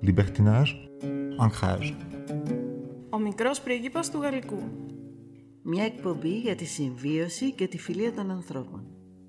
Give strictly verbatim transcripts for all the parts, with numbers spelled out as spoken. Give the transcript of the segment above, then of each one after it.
Libertinage, ancrage. Ο μικρός πρίγκιπας του Γαλλικού. Μια εκπομπή για τη συμβίωση και τη φιλία των ανθρώπων.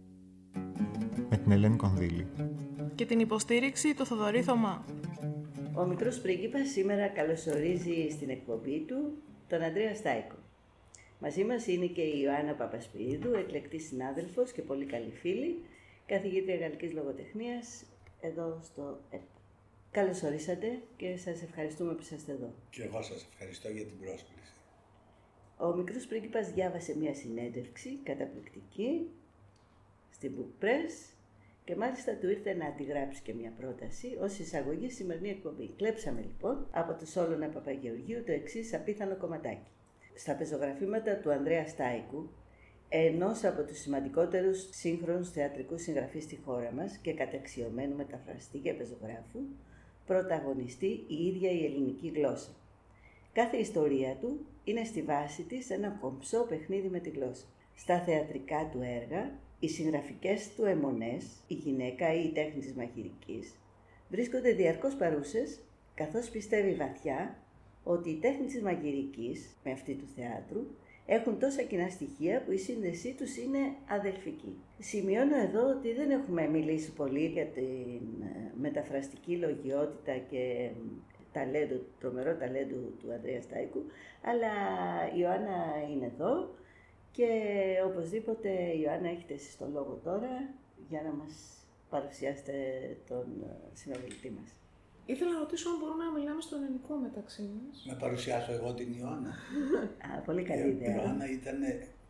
Με την Ελένη Κονδύλη. Και την υποστήριξη του Θοδωρή Θωμά. Ο μικρός πρίγκιπας σήμερα καλωσορίζει στην εκπομπή του τον Ανδρέα Στάικο. Μαζί μας είναι και η Ιωάννα Παπασπυρίδου, εκλεκτή συνάδελφος και πολύ καλή φίλη, καθηγήτρια γαλλικής λογοτεχνίας εδώ στο ΕΠ. Καλώς ορίσατε και σας ευχαριστούμε που είσαστε εδώ. Και εγώ σας ευχαριστώ για την πρόσκληση. Ο μικρός πρίγκιπας διάβασε μια συνέντευξη καταπληκτική στην Book Press και μάλιστα του ήρθε να αντιγράψει και μια πρόταση ως εισαγωγή στη σημερινή εκπομπή. Κλέψαμε λοιπόν από το Σόλωνα Παπαγεωργίου το εξής απίθανο κομματάκι. Στα πεζογραφήματα του Ανδρέα Στάικου, ενός από τους σημαντικότερους σύγχρονους θεατρικούς συγγραφείς στη χώρα μας και καταξιωμένου μεταφραστή και πεζογράφου, πρωταγωνιστεί η ίδια η ελληνική γλώσσα. Κάθε ιστορία του είναι στη βάση της ένα κομψό παιχνίδι με τη γλώσσα. Στα θεατρικά του έργα, οι συγγραφικές του αιμονές, η γυναίκα ή η τέχνη της μαγειρικής, βρίσκονται διαρκώς παρούσες, καθώς πιστεύει βαθιά ότι η τέχνη της μαγειρικής, με αυτή του θεάτρου, έχουν τόσα κοινά στοιχεία που η σύνδεσή τους είναι αδελφική. Σημειώνω εδώ ότι δεν έχουμε μιλήσει πολύ για την μεταφραστική λογιότητα και ταλέντο, τρομερό ταλέντο του Ανδρέα Στάικου, αλλά η Ιωάννα είναι εδώ και οπωσδήποτε η Ιωάννα έχετε εσείς τον λόγο τώρα για να μας παρουσιάσετε τον συνομιλητή μας. Ήθελα να ρωτήσω αν μπορούμε να μιλάμε στο ελληνικό μεταξύ μας. Να παρουσιάσω εγώ την Ιωάννα. Α, πολύ καλή ιδέα. Η Ιωάννα ήταν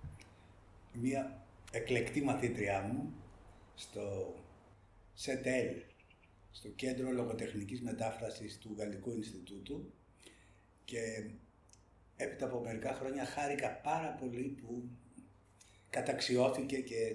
μια εκλεκτή μαθήτριά μου στο ΣΕΤΕΛ, στο Κέντρο Λογοτεχνικής Μετάφρασης του Γαλλικού Ινστιτούτου, και έπειτα από μερικά χρόνια χάρηκα πάρα πολύ που καταξιώθηκε και,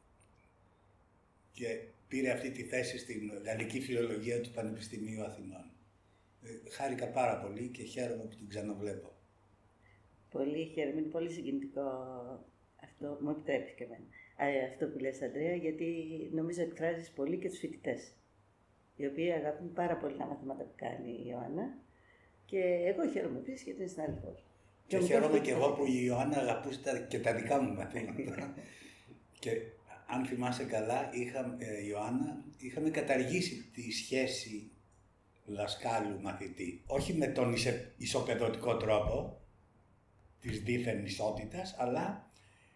και πήρε αυτή τη θέση στην Γαλλική Φιλολογία του Πανεπιστημίου Αθηνών. Ε, χάρηκα πάρα πολύ και χαίρομαι που την ξαναβλέπω. Πολύ χαίρομαι, είναι πολύ συγκινητικό αυτό, μου επιτρέπεις και εμένα. Ε, αυτό που λες, Ανδρέα, γιατί νομίζω εκφράζεις πολύ και τους φοιτητές, οι οποίοι αγαπούν πάρα πολύ τα μαθήματα που κάνει η Ιωάννα, και εγώ χαίρομαι επίσης γιατί είναι συνάδελφος. Και, και χαίρομαι και εγώ που η Ιωάννα αγαπούσε και τα δικά μου μαθήματα. Και αν θυμάσαι καλά, είχα, ε, Ιωάννα, είχαμε καταργήσει τη σχέση δασκάλου-μαθητή. Όχι με τον ισε, ισοπεδωτικό τρόπο της δίθεν ισότητας, αλλά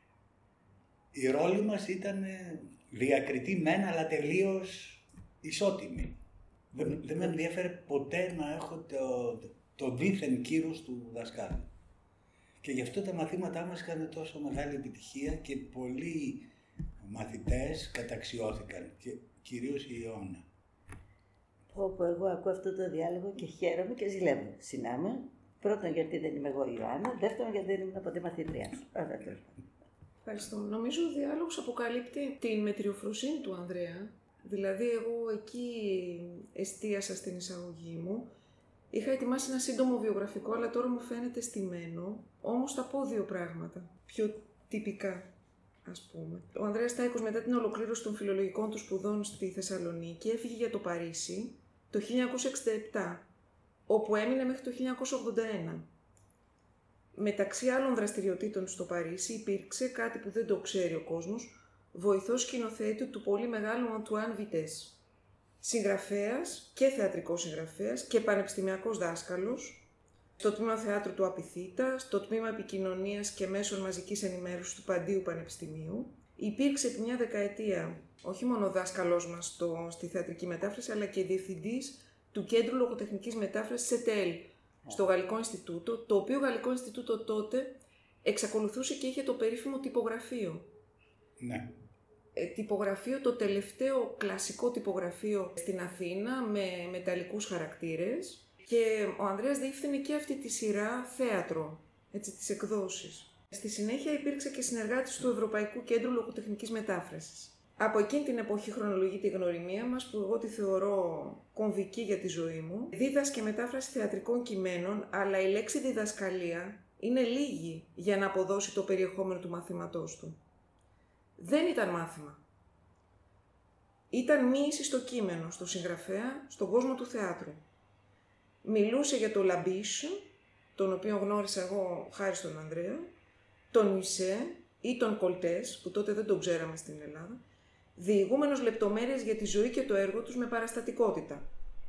η ρόλη μας ήταν διακριτή μεν, αλλά τελείως ισότιμη. Δεν, δεν με ενδιαφέρε ποτέ να έχω το, το δίθεν κύρος του δασκάλου. Και γι' αυτό τα μαθήματά μας είχαν τόσο μεγάλη επιτυχία και πολλοί μαθητές καταξιώθηκαν, και κυρίως η Ιωάννα. Όπου εγώ ακούω αυτό το διάλογο και χαίρομαι και ζηλεύω. Συνάμε. Πρώτον γιατί δεν είμαι εγώ η Ιωάννα, δεύτερον γιατί δεν ήμουν ποτέ μαθήτριά σου. Ευχαριστώ. Νομίζω ο διάλογος αποκαλύπτει την μετριοφροσύνη του Ανδρέα. Δηλαδή εγώ εκεί εστίασα στην εισαγωγή μου. Είχα ετοιμάσει ένα σύντομο βιογραφικό, αλλά τώρα μου φαίνεται στημένο. Όμως θα πω δύο πράγματα, πιο τυπικά. Ας πούμε. Ο Ανδρέας Στάικος, μετά την ολοκλήρωση των φιλολογικών του σπουδών στη Θεσσαλονίκη, έφυγε για το Παρίσι το χίλια εννιακόσια εξήντα επτά, όπου έμεινε μέχρι το χίλια εννιακόσια ογδόντα ένα. Μεταξύ άλλων δραστηριοτήτων στο Παρίσι υπήρξε κάτι που δεν το ξέρει ο κόσμος, βοηθός σκηνοθέτη του πολύ μεγάλου Αντουάν Βιτές. Συγγραφέας και θεατρικός συγγραφέας και πανεπιστημιακός δάσκαλος, στο τμήμα θεάτρου του Απιθύτα, στο τμήμα επικοινωνίας και μέσων μαζικής ενημέρωσης του Παντίου Πανεπιστημίου. Υπήρξε επί μια δεκαετία όχι μόνο δάσκαλός μας στο, στη θεατρική μετάφραση, αλλά και διευθυντής του Κέντρου Λογοτεχνικής Μετάφρασης ΣΕΤΕΛ, στο Γαλλικό Ινστιτούτο, το οποίο Γαλλικό Ινστιτούτο τότε εξακολουθούσε και είχε το περίφημο τυπογραφείο. Ναι. Ε, τυπογραφείο, το τελευταίο κλασικό τυπογραφείο στην Αθήνα, με μεταλλικούς χαρακτήρες. Και ο Ανδρέας διεύθυνε και αυτή τη σειρά θέατρο, έτσι, τις εκδόσεις. Στη συνέχεια υπήρξε και συνεργάτης του Ευρωπαϊκού Κέντρου Λογοτεχνικής Μετάφρασης. Από εκείνη την εποχή χρονολογείται η γνωριμία μας, που εγώ τη θεωρώ κομβική για τη ζωή μου. Δίδασκε μετάφραση θεατρικών κειμένων, αλλά η λέξη διδασκαλία είναι λίγη για να αποδώσει το περιεχόμενο του μαθήματός του. Δεν ήταν μάθημα. Ήταν μοίηση στο κείμενο, στο συγγραφέα, στον κόσμο του θεάτρου. Μιλούσε για το Λαμπίσ, τον οποίο γνώρισα εγώ χάρη στον Ανδρέα, τον Μισέ ή τον Κολτές, που τότε δεν τον ξέραμε στην Ελλάδα, διηγούμενος λεπτομέρειες για τη ζωή και το έργο τους με παραστατικότητα.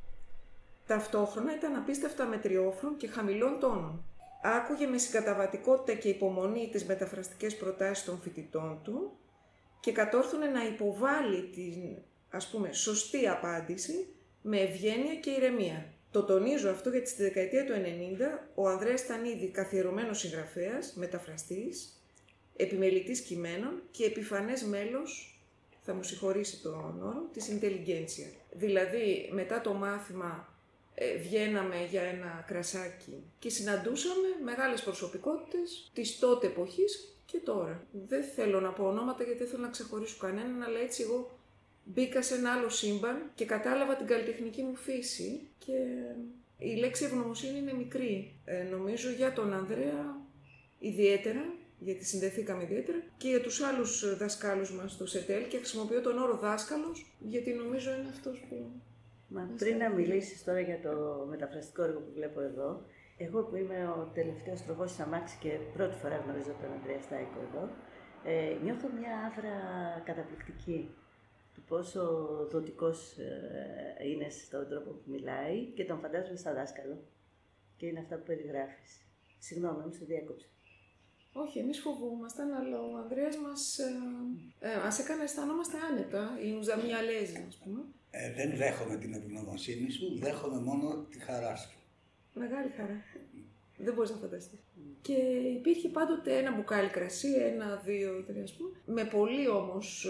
Ταυτόχρονα ήταν απίστευτα μετριόφρον και χαμηλών τόνων. Άκουγε με συγκαταβατικότητα και υπομονή τις μεταφραστικές προτάσεις των φοιτητών του και κατόρθωνε να υποβάλει την, ας πούμε, σωστή απάντηση με ευγένεια και ηρεμία. Το τονίζω αυτό γιατί στη δεκαετία του ενενήντα ο Ανδρέας ήταν ήδη καθιερωμένος συγγραφέας, μεταφραστής, επιμελητής κειμένων και επιφανές μέλος, θα μου συγχωρήσει τον όρο, της intelligentsia. Δηλαδή, μετά το μάθημα ε, βγαίναμε για ένα κρασάκι και συναντούσαμε μεγάλες προσωπικότητες της τότε εποχής και τώρα. Δεν θέλω να πω ονόματα γιατί δεν θέλω να ξεχωρίσω κανέναν, αλλά έτσι εγώ μπήκα σε ένα άλλο σύμπαν και κατάλαβα την καλλιτεχνική μου φύση και η λέξη ευγνωμοσύνη είναι μικρή. Ε, νομίζω για τον Ανδρέα ιδιαίτερα, γιατί συνδεθήκαμε ιδιαίτερα, και για τους άλλους δασκάλους μας στο ΣΕΤΕΛ και χρησιμοποιώ τον όρο δάσκαλος γιατί νομίζω είναι αυτός που... Μα πριν να μιλήσεις τώρα για το μεταφραστικό έργο που βλέπω εδώ, εγώ που είμαι ο τελευταίος τροχός της αμάξι και πρώτη φορά γνωρίζω τον Ανδρέα Στάικο εδώ, ε, νιώθω μια άβρα καταπληκτική του πόσο δοτικός ε, είναι στον τρόπο που μιλάει και τον φαντάζομαι σαν δάσκαλο. Και είναι αυτά που περιγράφεις. Συγγνώμη, όμως σε διέκοψα. Όχι, εμείς φοβούμασταν, αλλά ο Ανδρέας μας, ε, ε, μας έκανε να αισθανόμαστε άνετα, η ουζαμία λέζη, ας πούμε. Ε, δεν δέχομαι την ευγνωμοσύνη σου, δέχομαι μόνο τη χαρά σου. Μεγάλη χαρά. Δεν μπορείς να φανταστείς. Και υπήρχε πάντοτε ένα μπουκάλι κρασί, ένα, δύο, τρία, ας πούμε, με πολύ όμως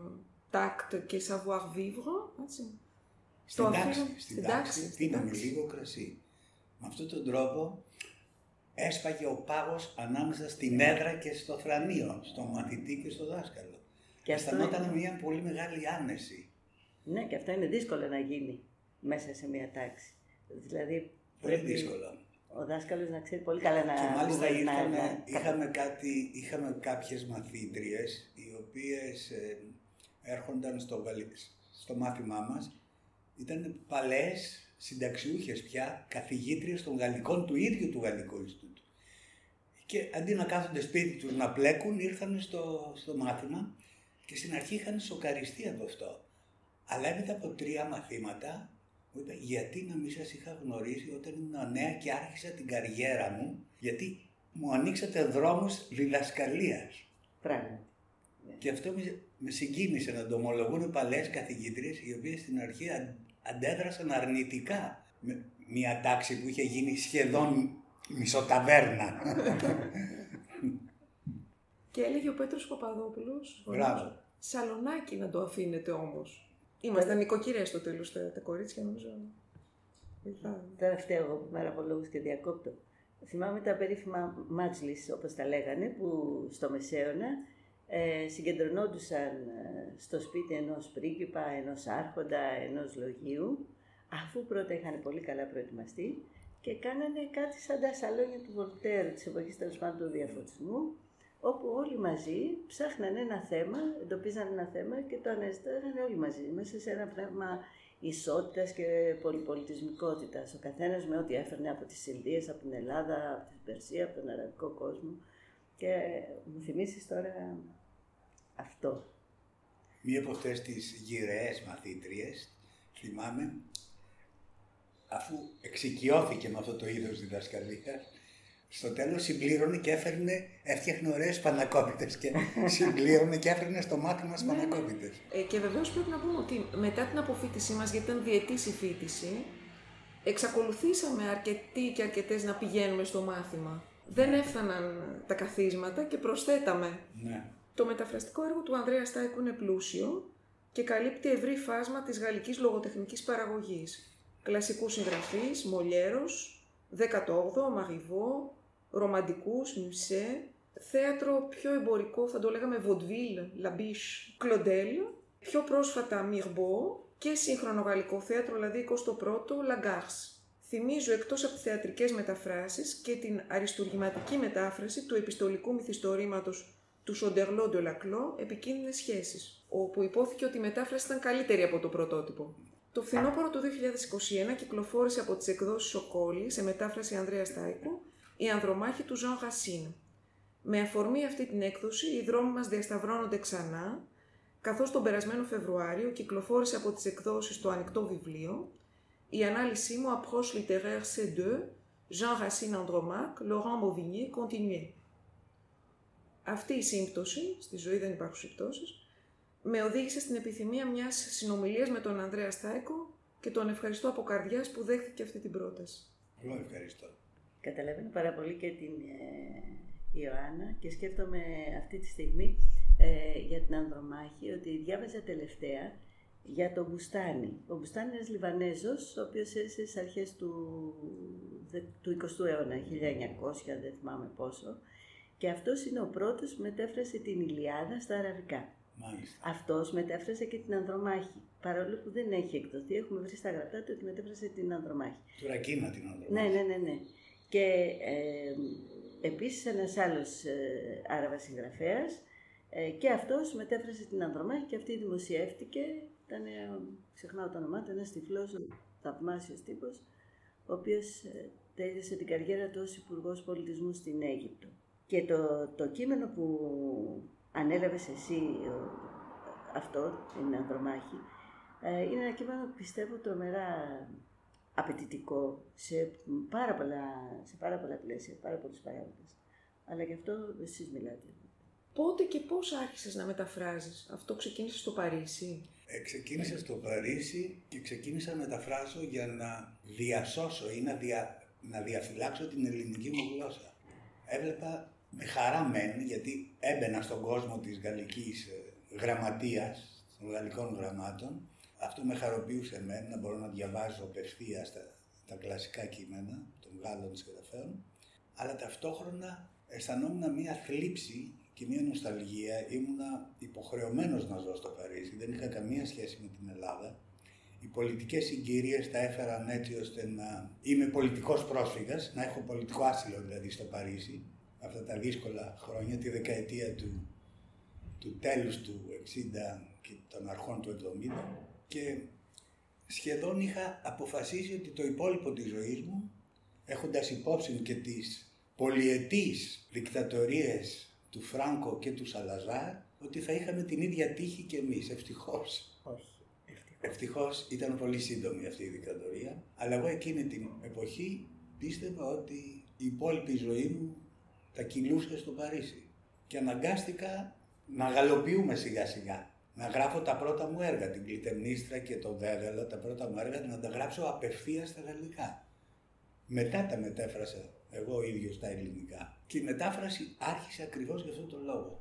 τάκτ και savoir vivre, έτσι. Στην τάξη, στην τάξη, πίναμε λίγο κρασί. Με αυτόν τον τρόπο έσπαγε ο πάγος ανάμεσα στην έδρα και στο θρανείο, στο μαθητή και στο δάσκαλο. Και αισθανόταν είναι... μια πολύ μεγάλη άνεση. Ναι, και αυτό είναι δύσκολο να γίνει μέσα σε μια τάξη. Δηλαδή, πολύ πρέπει δύσκολο. Ο δάσκαλος να ξέρει πολύ καλά να... Και μάλιστα ήρθαμε, να... είχαμε, κάτι, είχαμε κάποιες μαθήτριες, οι οποίες ε, έρχονταν στο, στο μάθημά μας, ήταν παλαιές συνταξιούχες πια, καθηγήτριες των γαλλικών του ίδιου του Γαλλικού Ινστιτούτου. Και αντί να κάθονται σπίτι τους να πλέκουν, ήρθαν στο, στο μάθημα και στην αρχή είχαν σοκαριστεί από αυτό. Αλλά έπειτα από τρία μαθήματα, μου είπε, γιατί να μην σας είχα γνωρίσει όταν ήμουν νέα και άρχισα την καριέρα μου, γιατί μου ανοίξατε δρόμους διδασκαλίας. Πράγματι. Και αυτό με, με συγκίνησε να το ομολογούν παλαιές καθηγήτριες, οι οποίες στην αρχή αντέδρασαν αρνητικά με μια τάξη που είχε γίνει σχεδόν μισοταβέρνα. Και έλεγε ο Πέτρος Παπαδόπουλος, μπράβο, Σαλονάκι να το αφήνετε όμως. Ήμασταν νοικοκυρές στο τέλος τα, τα κορίτσια, νομίζω. Τώρα φταίω εγώ που είμαι αραβολόγος και διακόπτω. Θυμάμαι τα περίφημα μάτζλις, όπως τα λέγανε, που στο Μεσαίωνα ε, συγκεντρωνόντουσαν στο σπίτι ενός πρίγκιπα, ενός άρχοντα, ενός λογίου, αφού πρώτα είχαν πολύ καλά προετοιμαστεί και κάνανε κάτι σαν τα σαλόνια του Βολτέρ, της εποχής τέλος πάντων του διαφωτισμού, όπου όλοι μαζί ψάχναν ένα θέμα, εντοπίζαν ένα θέμα και το αναζητάγανε όλοι μαζί, μέσα σε ένα πνεύμα ισότητας και πολυπολιτισμικότητας. Ο καθένας με ό,τι έφερνε από τις Ινδίες, από την Ελλάδα, από την Περσία, από τον αραβικό κόσμο. Και μου θυμίσεις τώρα αυτό. Μία από αυτές τις γυραιές μαθήτριες, θυμάμαι, αφού εξοικειώθηκε με αυτό το είδος διδασκαλίας, στο τέλος συμπλήρωνε και έφερνε, έφτιαχνε ωραίες σπανακόπιτες και συμπλήρωνε και έφερνε στο μάθημα σπανακόπιτες. Ε, και βεβαίως πρέπει να πούμε ότι μετά την αποφοίτησή μας, γιατί ήταν διετής η φοίτηση, εξακολουθήσαμε αρκετοί και αρκετές να πηγαίνουμε στο μάθημα. Δεν έφταναν τα καθίσματα και προσθέταμε. Ναι. Το μεταφραστικό έργο του Ανδρέα Στάικου είναι πλούσιο και καλύπτει ευρύ φάσμα της γαλλικής λογοτεχνικής παραγωγής. Κλασικούς συγγραφείς, Μολιέρος, δέκατο όγδοο, Μαριβό, ρομαντικούς, Μουσέ, θέατρο πιο εμπορικό, θα το λέγαμε Vaudeville, Λαμπίσ, Κλοντέλ, πιο πρόσφατα Μιρμπό και σύγχρονο γαλλικό θέατρο, δηλαδή εικοστό πρώτο, Λαγκάρς. Θυμίζω εκτός από τις θεατρικές μεταφράσεις και την αριστουργηματική μετάφραση του επιστολικού μυθιστορήματος του Σοντερλό de Laclos, Επικίνδυνες σχέσεις, όπου υπόθηκε ότι η μετάφραση ήταν καλύτερη από το πρωτότυπο. Το φθινόπωρο του δύο χιλιάδες είκοσι ένα κυκλοφόρησε από τις εκδόσεις Ο Κόλλη, σε μετάφραση Ανδρέα Στάικου, η Ανδρομάχη του Jean Racine. Με αφορμή αυτή την έκδοση, οι δρόμοι μας διασταυρώνονται ξανά, καθώς τον περασμένο Φεβρουάριο κυκλοφόρησε από τις εκδόσεις Το Ανοιχτό Βιβλίο, η ανάλυση μου Approche littéraire σι δύο, Jean Racine Andromaque, Laurent Mauvigné, Continué. Αυτή η σύμπτωση, στη ζωή δεν υπάρχουν συμπτώσεις, με οδήγησε στην επιθυμία μιας συνομιλίας με τον Ανδρέα Στάικο και τον ευχαριστώ από καρδιάς που δέχτηκε αυτή την πρόταση. Εγώ ευχαριστώ. Καταλαβαίνω πάρα πολύ και την ε, Ιωάννα και σκέφτομαι αυτή τη στιγμή ε, για την Ανδρομάχη ότι διάβαζα τελευταία για τον Μπουστάνη. Ο Μπουστάνη είναι ένας Λιβανέζος, ο οποίος έζησε στις αρχές του, του εικοστού αιώνα, χίλια εννιακόσια, δεν θυμάμαι πόσο, και αυτός είναι ο πρώτος που μετέφρασε την Ιλιάδα στα αραβικά. Μάλιστα. Αυτός μετέφρασε και την Ανδρομάχη, παρόλο που δεν έχει εκδοθεί, έχουμε βρει στα γραπτά του ότι μετέφρασε την Ανδρομάχη. Του Ρακίνα την Ανδρομάχη. Ναι, ναι, ναι, ναι. Και ε, επίσης ένας άλλος ε, Άραβας συγγραφέας ε, και αυτός μετέφρασε την Ανδρομάχη και αυτή δημοσιεύτηκε. Ήταν, ε, ξεχνάω το όνομά του, ένας τυφλός, θαυμάσιος τύπος, ο οποίος ε, τέλειωσε την καριέρα του ως Υπουργός Πολιτισμού στην Αίγυπτο. Και το, το κείμενο που ανέλαβες εσύ, ο, αυτό, την Ανδρομάχη, ε, είναι ένα κείμενο που πιστεύω τρομερά απαιτητικό σε πάρα πολλά, σε πάρα πολλά πλαίσια, πάρα πολλούς παράγοντες. Αλλά γι' αυτό εσείς μιλάτε. Πότε και πώς άρχισες να μεταφράζεις? Αυτό ξεκίνησε στο Παρίσι? Ε, ξεκίνησα στο Παρίσι και ξεκίνησα να μεταφράζω για να διασώσω ή να, δια, να διαφυλάξω την ελληνική μου γλώσσα. Έβλεπα με χαρά μεν, γιατί έμπαινα στον κόσμο της γαλλικής γραμματείας, των γαλλικών γραμμάτων. Αυτό με χαροποιούσε εμένα, να μπορώ να διαβάζω απευθείας τα, τα κλασικά κείμενα των Γάλλων συγγραφέων, αλλά ταυτόχρονα αισθανόμουν μία θλίψη και μία νοσταλγία. Ήμουνα υποχρεωμένος να ζω στο Παρίσι, δεν είχα καμία σχέση με την Ελλάδα. Οι πολιτικές συγκυρίες τα έφεραν έτσι ώστε να είμαι πολιτικός πρόσφυγας, να έχω πολιτικό άσυλο δηλαδή στο Παρίσι, αυτά τα δύσκολα χρόνια, τη δεκαετία του, του τέλους του εξήντα και των αρχών του εβδομήντα. Και σχεδόν είχα αποφασίσει ότι το υπόλοιπο της ζωής μου, έχοντας υπόψη και τις πολυετείς δικτατορίες του Φράνκο και του Σαλαζάρ, ότι θα είχαμε την ίδια τύχη κι εμείς, ευτυχώς. Όχι, ευτυχώς. Ευτυχώς ήταν πολύ σύντομη αυτή η δικτατορία, αλλά εγώ εκείνη την εποχή πίστευα ότι η υπόλοιπη ζωή μου θα κυλούσε στο Παρίσι. Και αναγκάστηκα να γαλοποιούμε σιγά σιγά. Να γράφω τα πρώτα μου έργα, την Κλητεμνίστρα και το Δέδαλο, τα πρώτα μου έργα, να τα γράψω απευθείας στα γαλλικά. Μετά τα μετέφρασα εγώ ίδιος στα ελληνικά. Και η μετάφραση άρχισε ακριβώς για αυτόν τον λόγο.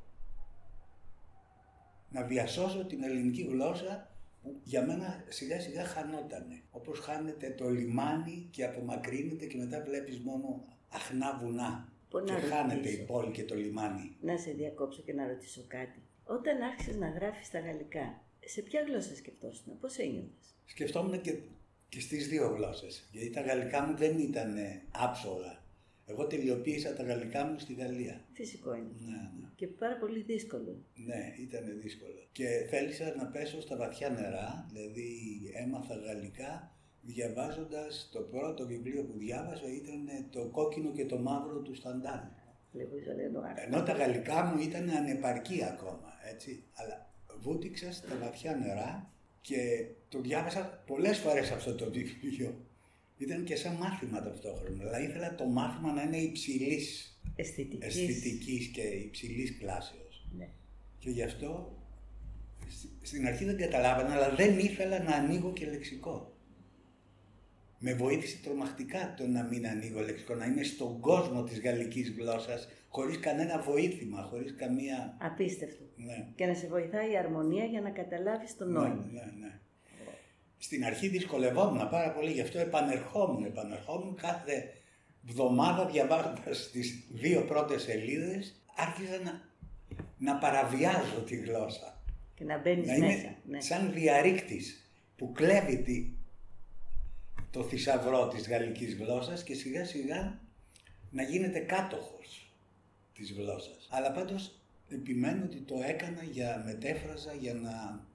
Να διασώσω την ελληνική γλώσσα που για μένα σιγά σιγά χανότανε. Όπως χάνεται το λιμάνι και απομακρύνεται και μετά βλέπεις μόνο αχνά βουνά. Που και χάνεται η πόλη και το λιμάνι. Να σε διακόψω και να ρωτήσω κάτι. Όταν άρχισες να γράφεις στα γαλλικά, σε ποια γλώσσα σκεφτόσουν, πώς ένιωθες? Σκεφτόμουν και, και στις δύο γλώσσες, γιατί τα γαλλικά μου δεν ήταν άψογα. Εγώ τελειοποίησα τα γαλλικά μου στη Γαλλία. Φυσικό είναι. Ναι, ναι. Και πάρα πολύ δύσκολο. Ναι, ήταν δύσκολο. Και θέλησα να πέσω στα βαθιά νερά, δηλαδή έμαθα γαλλικά διαβάζοντας το πρώτο βιβλίο που διάβασα ήταν το Κόκκινο και το Μαύρο του Σταντάλ. Ενώ τα γαλλικά μου ήταν ανεπαρκή ακόμα, έτσι. Αλλά βούτυξα στα βαθιά νερά και το διάβασα πολλές φορές αυτό το βιβλίο. Ήταν και σαν μάθημα ταυτόχρονα, αλλά ήθελα το μάθημα να είναι υψηλής αισθητικής, αισθητικής και υψηλής κλάσεως. Ναι. Και γι' αυτό στην αρχή δεν καταλάβανα, αλλά δεν ήθελα να ανοίγω και λεξικό. Με βοήθησε τρομακτικά το να μην ανοίγω λεξικό, να είμαι στον κόσμο της γαλλικής γλώσσας, χωρίς κανένα βοήθημα, χωρίς καμία... Απίστευτο. Ναι. Και να σε βοηθάει η αρμονία για να καταλάβεις το νόημα. Ναι, ναι, ναι. Στην αρχή δυσκολευόμουν πάρα πολύ, γι' αυτό επανερχόμουν, επανερχόμουν κάθε εβδομάδα διαβάζοντας τις δύο πρώτες σελίδες, άρχισα να, να παραβιάζω τη γλώσσα. Και να μπαίνεις να μέσα. Είμαι ναι. σαν διαρρήκτης που κλέβει τη, το θησαυρό της γαλλικής γλώσσας και σιγά σιγά να γίνεται κάτοχος της γλώσσας. Αλλά πάντως επιμένω ότι το έκανα για μετέφραζα για να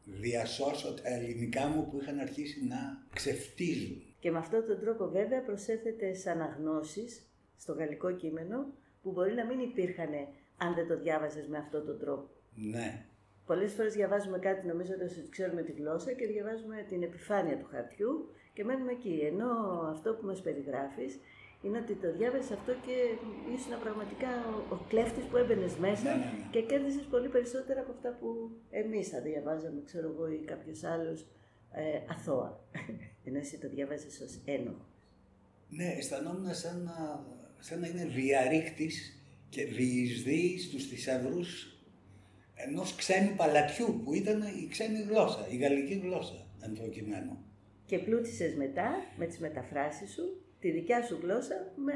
διασώσω τα ελληνικά μου που είχαν αρχίσει να ξεφτίζουν. Και με αυτόν τον τρόπο βέβαια προσέθετες αναγνώσεις στο γαλλικό κείμενο που μπορεί να μην υπήρχαν αν δεν το διάβαζες με αυτόν τον τρόπο. Ναι. Πολλές φορές διαβάζουμε κάτι νομίζοντας ότι ξέρουμε τη γλώσσα και διαβάζουμε την επιφάνεια του χαρτιού και μένουμε εκεί. Ενώ αυτό που μας περιγράφεις είναι ότι το διάβασες αυτό και ήσουν πραγματικά ο, ο κλέφτης που έμπαινες μέσα ναι, ναι, ναι. και κέρδισες πολύ περισσότερα από αυτά που εμείς θα διαβάζαμε, ξέρω εγώ, ή κάποιος άλλος ε, αθώα. Ενώ εσύ το διαβάζεις ως ένοχο. Ναι, αισθανόμουν σαν να, σαν να είναι διαρρήκτης και διεισδύει στους θησαυρούς ενός ξένου παλατιού που ήταν η ξένη γλώσσα, η γαλλική γλώσσα εν προκειμένου. Και πλούτησες μετά με τις μεταφράσεις σου τη δικιά σου γλώσσα με,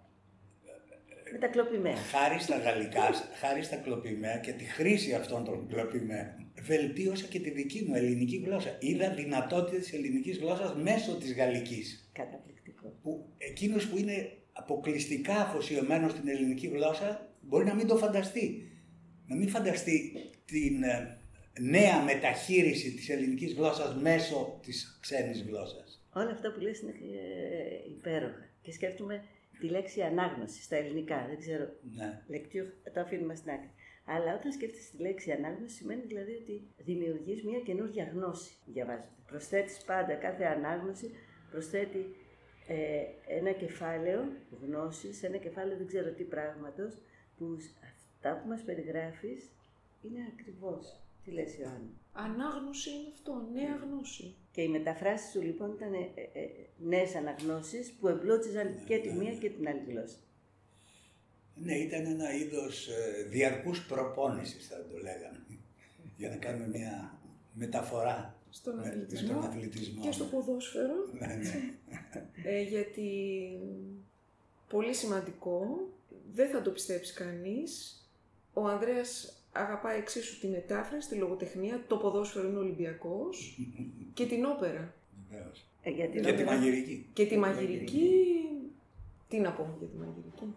με τα κλοπημαία. Χάρη στα γαλλικά, χάρη στα κλοπημαία και τη χρήση αυτών των κλοπημένων, βελτίωσα και τη δική μου ελληνική γλώσσα. Είδα δυνατότητες της ελληνικής γλώσσας μέσω της γαλλικής. Καταπληκτικό. Που εκείνος που είναι αποκλειστικά αφοσιωμένος στην ελληνική γλώσσα μπορεί να μην το φανταστεί. Να μην φανταστεί την ε, νέα μεταχείριση της ελληνικής γλώσσας μέσω της ξένης γλώσσας. Όλα αυτά που λες είναι ε, υπέροχα. Και σκέφτομαι τη λέξη ανάγνωση στα ελληνικά. Δεν ξέρω. Ναι. Λεκτιού, το αφήνουμε στην άκρη. Αλλά όταν σκέφτεσαι τη λέξη ανάγνωση, σημαίνει δηλαδή ότι δημιουργείς μια καινούργια γνώση διαβάζοντα. Προσθέτεις πάντα κάθε ανάγνωση, προσθέτει ε, ένα κεφάλαιο γνώσης, ένα κεφάλαιο δεν ξέρω τι πράγματος, που αυτά που μας περιγράφεις είναι ακριβώς. Τι λες, Ιωάννη? Ανάγνωση είναι αυτό, νέα γνώση. Και οι μεταφράσεις σου λοιπόν ήταν ε, ε, ε, νέες αναγνώσεις που εμπλούτιζαν ναι, και τη μία και την άλλη γλώσσα. Ναι, ήταν ένα είδος ε, διαρκούς προπόνησης, θα το λέγαμε, για να κάνουμε μια μεταφορά στον με, αθλητισμό, με τον αθλητισμό και στο ποδόσφαιρο. ναι, ναι. ε, γιατί πολύ σημαντικό, δεν θα το πιστέψει κανείς, ο Ανδρέας αγαπάει εξίσου τη μετάφραση, τη λογοτεχνία, το ποδόσφαιρο είναι Ολυμπιακός και την όπερα. Βεβαίως. Ε, για την και όπερα. τη μαγειρική. Και τη μαγειρική, τι να πω για τη μαγειρική.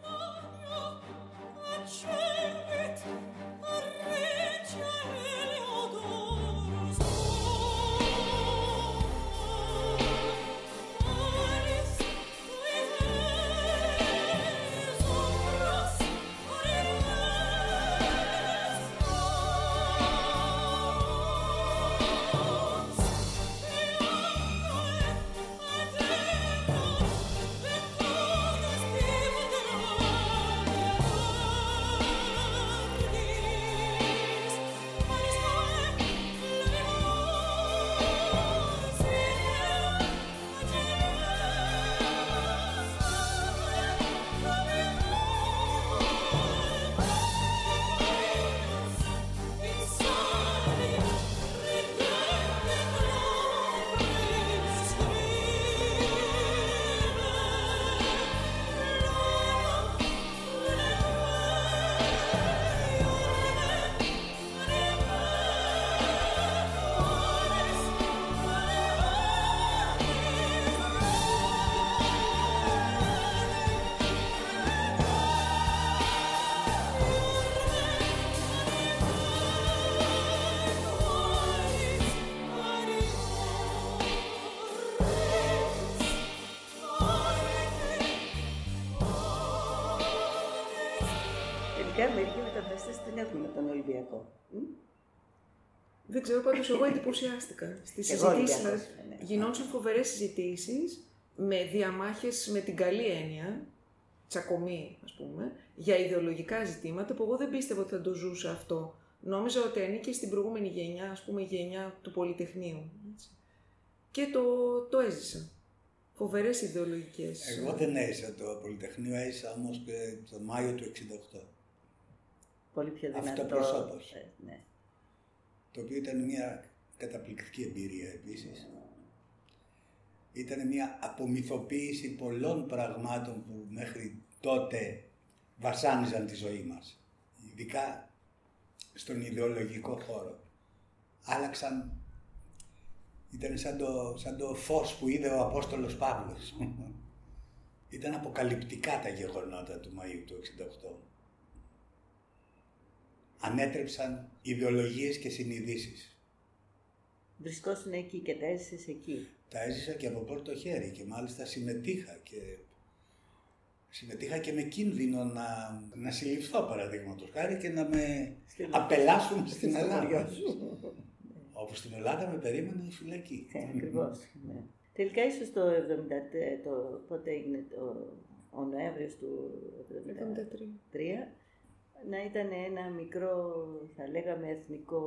Μερικοί μεταφραστές την έχουν με τον Ολυμπιακό. Δεν ξέρω, πάντως εγώ εντυπωσιάστηκα. Στις συζητήσεις ναι. Γινόντουσαν φοβερές συζητήσεις με διαμάχες με την καλή έννοια, τσακωμή ας πούμε, για ιδεολογικά ζητήματα που εγώ δεν πίστευα ότι θα το ζούσα αυτό. Νόμιζα ότι ανήκε στην προηγούμενη γενιά, ας πούμε, γενιά του Πολυτεχνείου. Έτσι. Και το, το έζησα. Φοβερές ιδεολογικές. Εγώ δεν έζησα το Πολυτεχνείο, έζησα όμως και το Μάιο του εξήντα οκτώ. Πολύ πιο δυνατό. Αυτοπροσώπως. Ε, ναι. Το οποίο ήταν μια καταπληκτική εμπειρία επίσης. Ήταν μια απομυθοποίηση πολλών πραγμάτων που μέχρι τότε βασάνιζαν τη ζωή μας. Ειδικά στον ιδεολογικό χώρο. Άλλαξαν, ήταν σαν το, σαν το φως που είδε ο Απόστολος Παύλος. Ήταν αποκαλυπτικά τα γεγονότα του Μαΐου του εξήντα οκτώ. Ανέτρεψαν ιδεολογίες και συνειδήσεις. Βρισκόσουν εκεί και τα έζησες εκεί. Τα έζησα και από πρώτο χέρι και μάλιστα συμμετείχα και, συμμετείχα και με κίνδυνο να, να συλληφθώ, παραδείγματος χάρη, και να με Στην... απελάσουν στην Ελλάδα. Όπως στην Ελλάδα με περίμενε η φυλακή. Ναι, ακριβώς. Ναι. Τελικά ίσως το εβδομήντα τρία, το, πότε έγινε το, ο Νοέμβριος του εβδομήντα τρία, να ήταν ένα μικρό, θα λέγαμε, εθνικό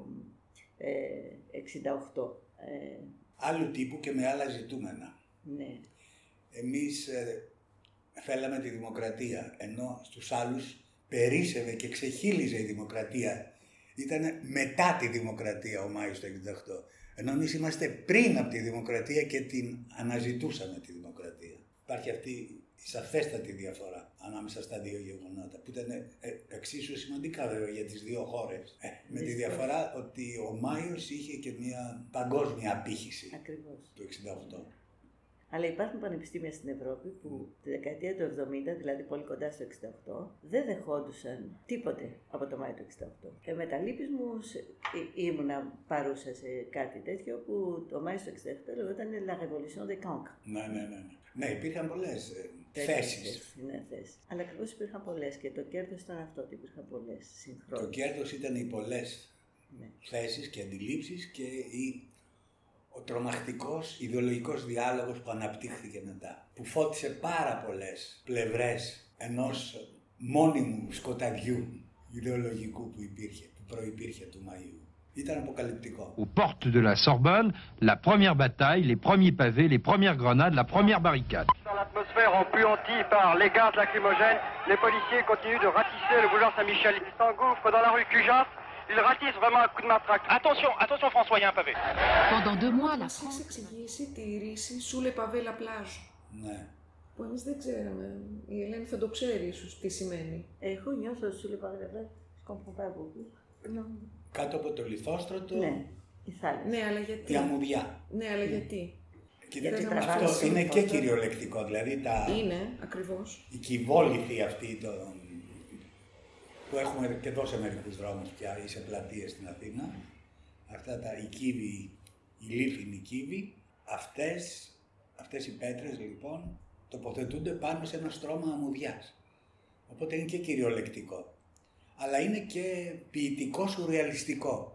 ε, εξήντα οκτώ. Ε, Άλλου τύπου και με άλλα ζητούμενα. Ναι. Εμείς ε, θέλαμε τη δημοκρατία, ενώ στους άλλους περίσσευε και ξεχύλιζε η δημοκρατία. Ήταν μετά τη δημοκρατία ο Μάιος του εξήντα οκτώ. Ενώ εμείς είμαστε πριν από τη δημοκρατία και την αναζητούσαμε τη δημοκρατία. Υπάρχει αυτή η σαφέστατη διαφορά ανάμεσα στα δύο γεγονότα, που ήταν ε, εξίσου σημαντικά βέβαια για τις δύο χώρες. Ε, με τη διαφορά ότι ο Μάιος είχε και μια παγκόσμια απήχηση. Ακριβώς. Του εξήντα οκτώ. Αλλά υπάρχουν πανεπιστήμια στην Ευρώπη που τη δεκαετία του εβδομήντα, δηλαδή πολύ κοντά στο εξήντα οκτώ, δεν δεχόντουσαν τίποτε από το Μάιο του εξήντα οκτώ. Και με τα λύπης μου ήμουνα παρούσα σε κάτι τέτοιο που το Μάιο του εξήντα οκτώ λεγόταν La Révolution des Cancres. Ναι, ναι, ναι. Ναι, υπήρχαν πολλές ε, θέσεις. Ναι, θέσεις. Αλλά ακριβώς υπήρχαν πολλές και το κέρδος ήταν αυτό, ότι υπήρχαν πολλές συγχρόνως. Το κέρδος ήταν οι πολλές ναι. θέσεις και αντιλήψεις και η ο τρομακτικός ιδεολογικός διάλογος που αναπτύχθηκε μετά, που φώτισε πάρα πολλές πλευρές ενός μόνιμου σκοταδιού ιδεολογικού που υπήρχε, που προϋπήρχε του Μαΐου. Ήταν αποκαλυπτικό. Aux portes de la Sorbonne, la première bataille, les premiers pavés, les premières grenades, la première barricade. Dans l'atmosphère empuantie par les gaz lacrymogènes, les policiers continuent de ratisser le boulevard Saint-Michel. Ils s'engouffrent dans la rue Cujas. Il ratisse vraiment un coup de matraque. Attention, attention François, il y a un pavé. Pendant deux mois, la France... Μας εξηγήσει τη ρίση sous le pavé la plage. Ναι. Που εμείς δεν ξέραμε. Η Ελένη θα το ξέρει ίσως τι σημαίνει. Εγώ νιώθω sous le pavé la plage, je comprends pas beaucoup. Κάτω από το λιθόστρωτο. Ναι, η θάλασσα. Ναι, αλλά γιατί. Η αμμουδιά. Ναι, αλλά γιατί. Κοιτάξτε, αυτό είναι και κυριολεκτικό, δηλαδή τα... Είναι, ακριβώς. Η κυβόληθη αυτή το... που έχουμε και εδώ σε μερικούς δρόμους πια ή σε πλατείες στην Αθήνα, αυτά τα, οι κύβοι, οι λίφινοι κύβοι, αυτές, αυτές οι πέτρες λοιπόν τοποθετούνται πάνω σε ένα στρώμα αμμουδιάς. Οπότε είναι και κυριολεκτικό. Αλλά είναι και ποιητικό σουρεαλιστικό.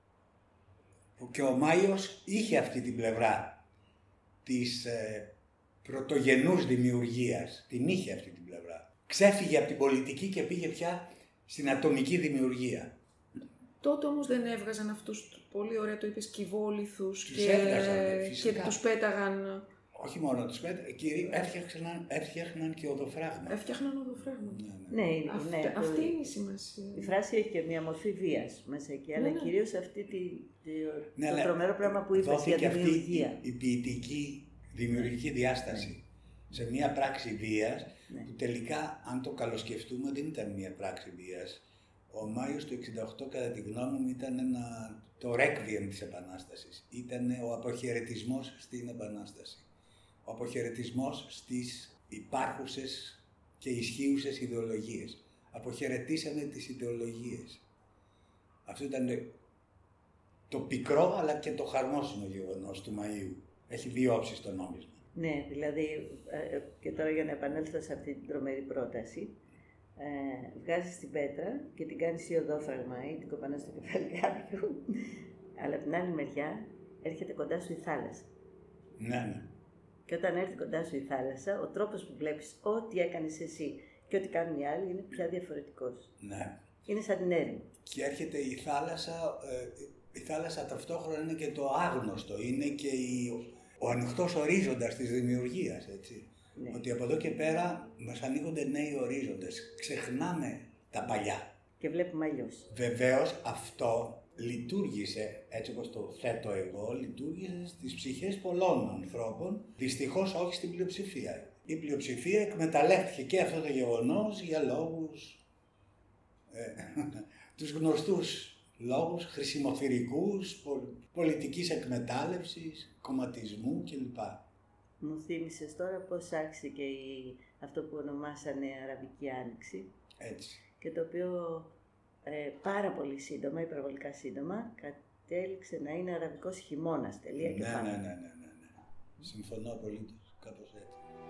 Και ο Μάιος είχε αυτή την πλευρά της ε, πρωτογενούς δημιουργίας. Την είχε αυτή την πλευρά. Ξέφυγε από την πολιτική και πήγε πια στην ατομική δημιουργία. Τότε όμως δεν έβγαζαν αυτούς, πολύ ωραία το είπες, κυβόληθους τους και, έβγαζαν, και τους πέταγαν. Όχι μόνο τους πέταγαν, κύριοι, έφτιαχναν, έφτιαχναν και οδοφράγματα. Έφτιαχναν οδοφράγματα. Ναι, ναι. ναι, αυτή, ναι, αυτή το... είναι η σημασία. Η φράση έχει και μια μορφή βίας μέσα εκεί, ναι, αλλά ναι. κυρίως αυτή τη, τη, ναι, το τρομερό πράγμα που είπες για τη δημιουργία. Αυτή η, η ποιητική δημιουργική διάσταση ναι. σε μια πράξη βίας, ναι. που τελικά, αν το καλοσκεφτούμε, δεν ήταν μια πράξη βίας. Ο Μάιος του εξήντα οκτώ, κατά τη γνώμη μου, ήταν ένα, το ρέκβιεμ της Επανάστασης. Ήταν ο αποχαιρετισμός στην Επανάσταση. Ο αποχαιρετισμός στις υπάρχουσες και ισχύουσες ιδεολογίες. Αποχαιρετήσανε τις ιδεολογίες. Αυτό ήταν το πικρό αλλά και το χαρμόσυνο γεγονός του Μαΐου. Έχει δύο όψεις το νόμισμα. Ναι, δηλαδή, και τώρα για να επανέλθω σε αυτή την τρομερή πρόταση, ε, βγάζεις την πέτρα και την κάνεις ή οδόφραγμα ή την κοπανάς στο κεφάλι κάποιου, αλλά από την άλλη μεριά έρχεται κοντά σου η θάλασσα. Ναι, ναι. Και όταν έρθει κοντά σου η θάλασσα, ο τρόπος που βλέπεις ό,τι έκανες εσύ και ό,τι κάνουν οι άλλοι είναι πια διαφορετικός. Ναι. Είναι σαν την έρημο. Και έρχεται η θάλασσα, ε, η θάλασσα ταυτόχρονα είναι και το άγνωστο, είναι και η, ο ανοιχτός ορίζοντας της δημιουργίας, έτσι. Ναι. Ότι από εδώ και πέρα μας ανοίγονται νέοι ορίζοντες. Ξεχνάμε τα παλιά. Και βλέπουμε αλλιώς. Βεβαίως αυτό λειτουργήσε, έτσι όπως το θέτω εγώ, λειτουργήσε στις ψυχές πολλών ανθρώπων, δυστυχώς όχι στην πλειοψηφία. Η πλειοψηφία εκμεταλλεύτηκε και αυτό το γεγονός για λόγους, ε, τους γνωστούς λόγους χρησιμοθυρικούς, πολιτικής εκμετάλλευσης, κομματισμού κλπ. Μου θύμισες τώρα πώς άρχισε και η, αυτό που ονομάσανε Αραβική Άνοιξη. Έτσι. Και το οποίο ε, πάρα πολύ σύντομα, υπερβολικά σύντομα, κα, τέλειξε να είναι αραβικός χειμώνας, τελεία και Ναι, πάνω. ναι, ναι, ναι, ναι, ναι. Συμφωνώ απολύτως, κάπως έτσι.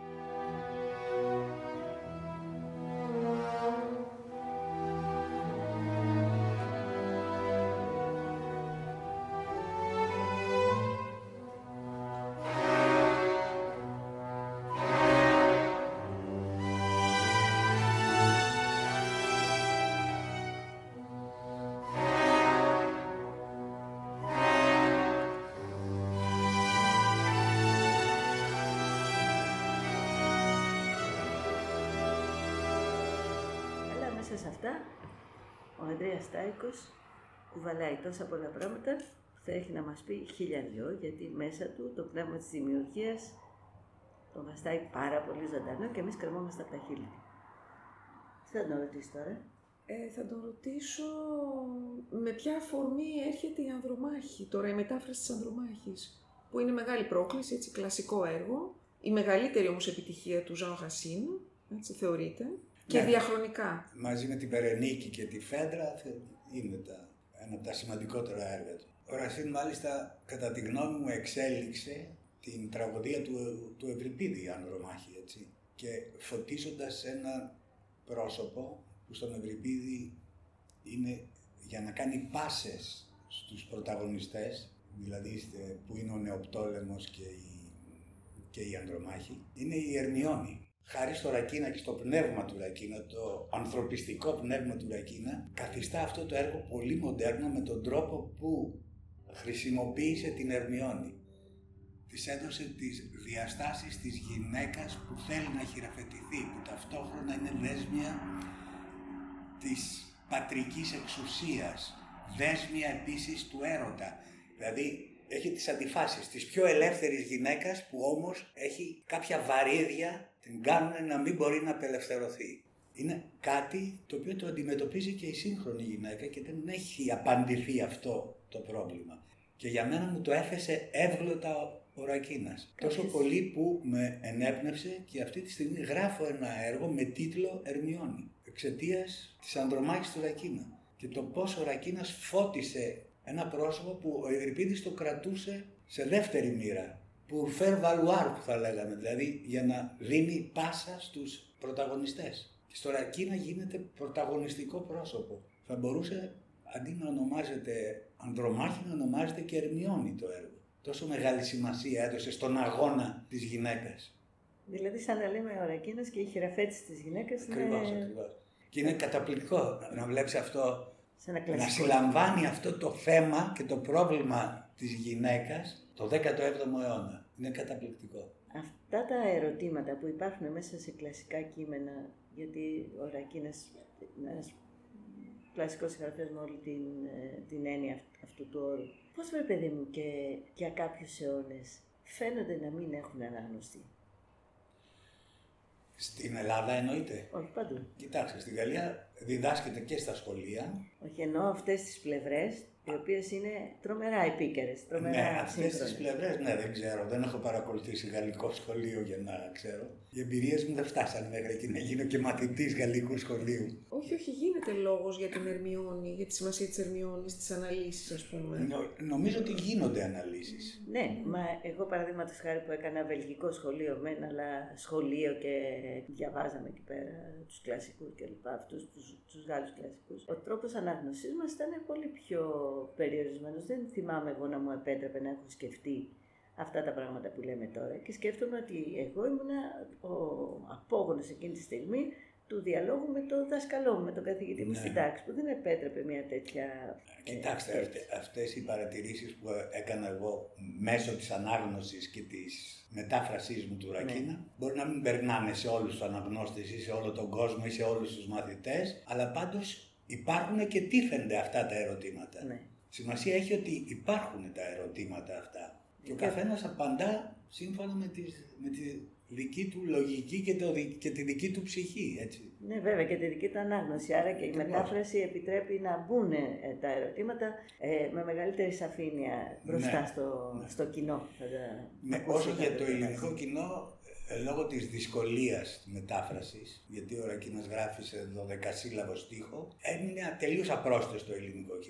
Σε αυτά, ο Ανδρέας Στάικος κουβαλάει τόσα πολλά πράγματα που θα έχει να μας πει χίλια δυο, γιατί μέσα του το πνεύμα της δημιουργίας τον βαστάει πάρα πολύ ζωντανό και εμείς κρεμόμαστε από τα χείλη. Τι θα τον ρωτήσει τώρα? Ε, θα τον ρωτήσω με ποια αφορμή έρχεται η Ανδρομάχη, τώρα η μετάφραση της Ανδρομάχης, που είναι μεγάλη πρόκληση, έτσι, κλασικό έργο, η μεγαλύτερη όμως επιτυχία του Ζαν Ρασίν, έτσι θεωρείται. Και ναι, διαχρονικά. Μαζί με την Περενίκη και τη Φέντρα είναι τα, ένα από τα σημαντικότερα έργα του. Ο Ρασίν μάλιστα κατά τη γνώμη μου εξέλιξε την τραγωδία του, του Ευρυπίδη, η Ανδρομάχη, έτσι. Και φωτίζοντας ένα πρόσωπο που στον Ευρυπίδη είναι για να κάνει πάσες στους πρωταγωνιστές, δηλαδή που είναι ο Νεοπτόλεμος και η, και η Ανδρομάχη, είναι η Ερμιόνη. Χάρη στο Ρακίνα και στο πνεύμα του Ρακίνα, το ανθρωπιστικό πνεύμα του Ρακίνα, καθιστά αυτό το έργο πολύ μοντέρνο με τον τρόπο που χρησιμοποίησε την Ερμιόνη. Της έδωσε τις διαστάσεις της γυναίκας που θέλει να χειραφετηθεί, που ταυτόχρονα είναι δέσμια της πατρικής εξουσίας, δέσμια επίσης του έρωτα. Δηλαδή έχει τις αντιφάσεις της πιο ελεύθερης γυναίκας που όμως έχει κάποια βαρύδια, την κάνουν να μην μπορεί να απελευθερωθεί. Είναι κάτι το οποίο το αντιμετωπίζει και η σύγχρονη γυναίκα και δεν έχει απαντηθεί αυτό το πρόβλημα. Και για μένα μου το έθεσε εύγλωτα ο Ρακίνας. Κάποιος... Τόσο πολύ που με ενέπνευσε και αυτή τη στιγμή γράφω ένα έργο με τίτλο Ερμιόνη, εξαιτίας της Ανδρομάχης του Ρακίνα. Και το πώς ο Ρακίνας φώτισε ένα πρόσωπο που ο Ευρυπίδης το κρατούσε σε δεύτερη μοίρα, που faire valoir που θα λέγαμε, δηλαδή για να δίνει πάσα στους πρωταγωνιστές. Και στο Ρακίνα γίνεται πρωταγωνιστικό πρόσωπο. Θα μπορούσε αντί να ονομάζεται Ανδρομάχη να ονομάζεται και Ερμιόνη το έργο. Τόσο μεγάλη σημασία έδωσε στον αγώνα της γυναίκας. Δηλαδή σαν να λέμε ο Ρακίνας και η χειραφέτηση της γυναίκας. Ακριβώς, είναι... ακριβώς. Και είναι καταπληκτικό να βλέπεις αυτό, να συλλαμβάνει αυτό το θέμα και το πρόβλημα της γυναίκας το δέκατο έβδομο αιώνα. Είναι καταπληκτικό. Αυτά τα ερωτήματα που υπάρχουν μέσα σε κλασικά κείμενα, γιατί ο Ρακίνας είναι ένας κλασικός συγγραφέας με όλη την, την έννοια αυτού του όρου. Πώς βρε παιδί μου και για κάποιους αιώνες φαίνονται να μην έχουν ανάγνωστη? Στην Ελλάδα εννοείται? Όχι, παντού. Κοιτάξτε, στη Γαλλία διδάσκεται και στα σχολεία. Όχι, εννοώ αυτές τις πλευρές, οι οποίες είναι τρομερά επίκαιρες, τρομερά ναι, αυτές σύγχρονες. τις πλευρές, ναι, δεν ξέρω. Δεν έχω παρακολουθήσει γαλλικό σχολείο για να ξέρω. Οι εμπειρίες μου δεν φτάσανε μέχρι εκεί να γίνω και μαθητής γαλλικού σχολείου. Όχι, όχι, γίνεται λόγος για την Ερμιόνη, για τη σημασία της Ερμιόνης, τις αναλύσεις, ας πούμε. Νο, νομίζω ότι γίνονται αναλύσεις. Ναι, μα εγώ παραδείγματος χάρη που έκανα βελγικό σχολείο μεν, αλλά σχολείο και διαβάζαμε εκεί πέρα τους κλασικούς και λοιπά, αυτούς τους, τους Γάλλους κλασικούς. Ο τρόπος ανάγνωσης μας ήταν πολύ πιο περιορισμένος. Δεν θυμάμαι εγώ να μου επέτρεπε να έχω σκεφτεί αυτά τα πράγματα που λέμε τώρα και σκέφτομαι ότι εγώ ήμουνα ο απόγονος εκείνη τη στιγμή του διαλόγου με τον δάσκαλό μου, με τον καθηγητή μου ναι. στην τάξη, που δεν επέτρεπε μια τέτοια... Κοιτάξτε, ε, αυτές οι παρατηρήσεις που έκανα εγώ μέσω της ανάγνωσης και της μετάφρασής μου του Ρακίνα, ναι. μπορεί να μην περνάνε σε όλους τους αναγνώστες ή σε όλο τον κόσμο ή σε όλους τους μαθητές, αλλά πάντως υπάρχουν και τίθενται αυτά τα ερωτήματα. Ναι. Σημασία έχει ότι υπάρχουν τα ερωτήματα αυτά και ο καθένας απαντά σύμφωνα με, τις, με τη δική του λογική και, το, και τη δική του ψυχή, έτσι. Ναι, βέβαια, και τη δική του ανάγνωση. Άρα και η μετάφραση επιτρέπει να μπουν ε, τα ερωτήματα ε, με μεγαλύτερη σαφήνεια μπροστά ναι, στο, ναι. στο κοινό. Ναι, όσο για το ελληνικό κοινό, λόγω της δυσκολίας μετάφρασης, γιατί ο Ρακίνας γράφει σε δωδεκασύλλαβο στίχο, έμεινε τελείως απρόσθετο στο ελληνικό κοινό.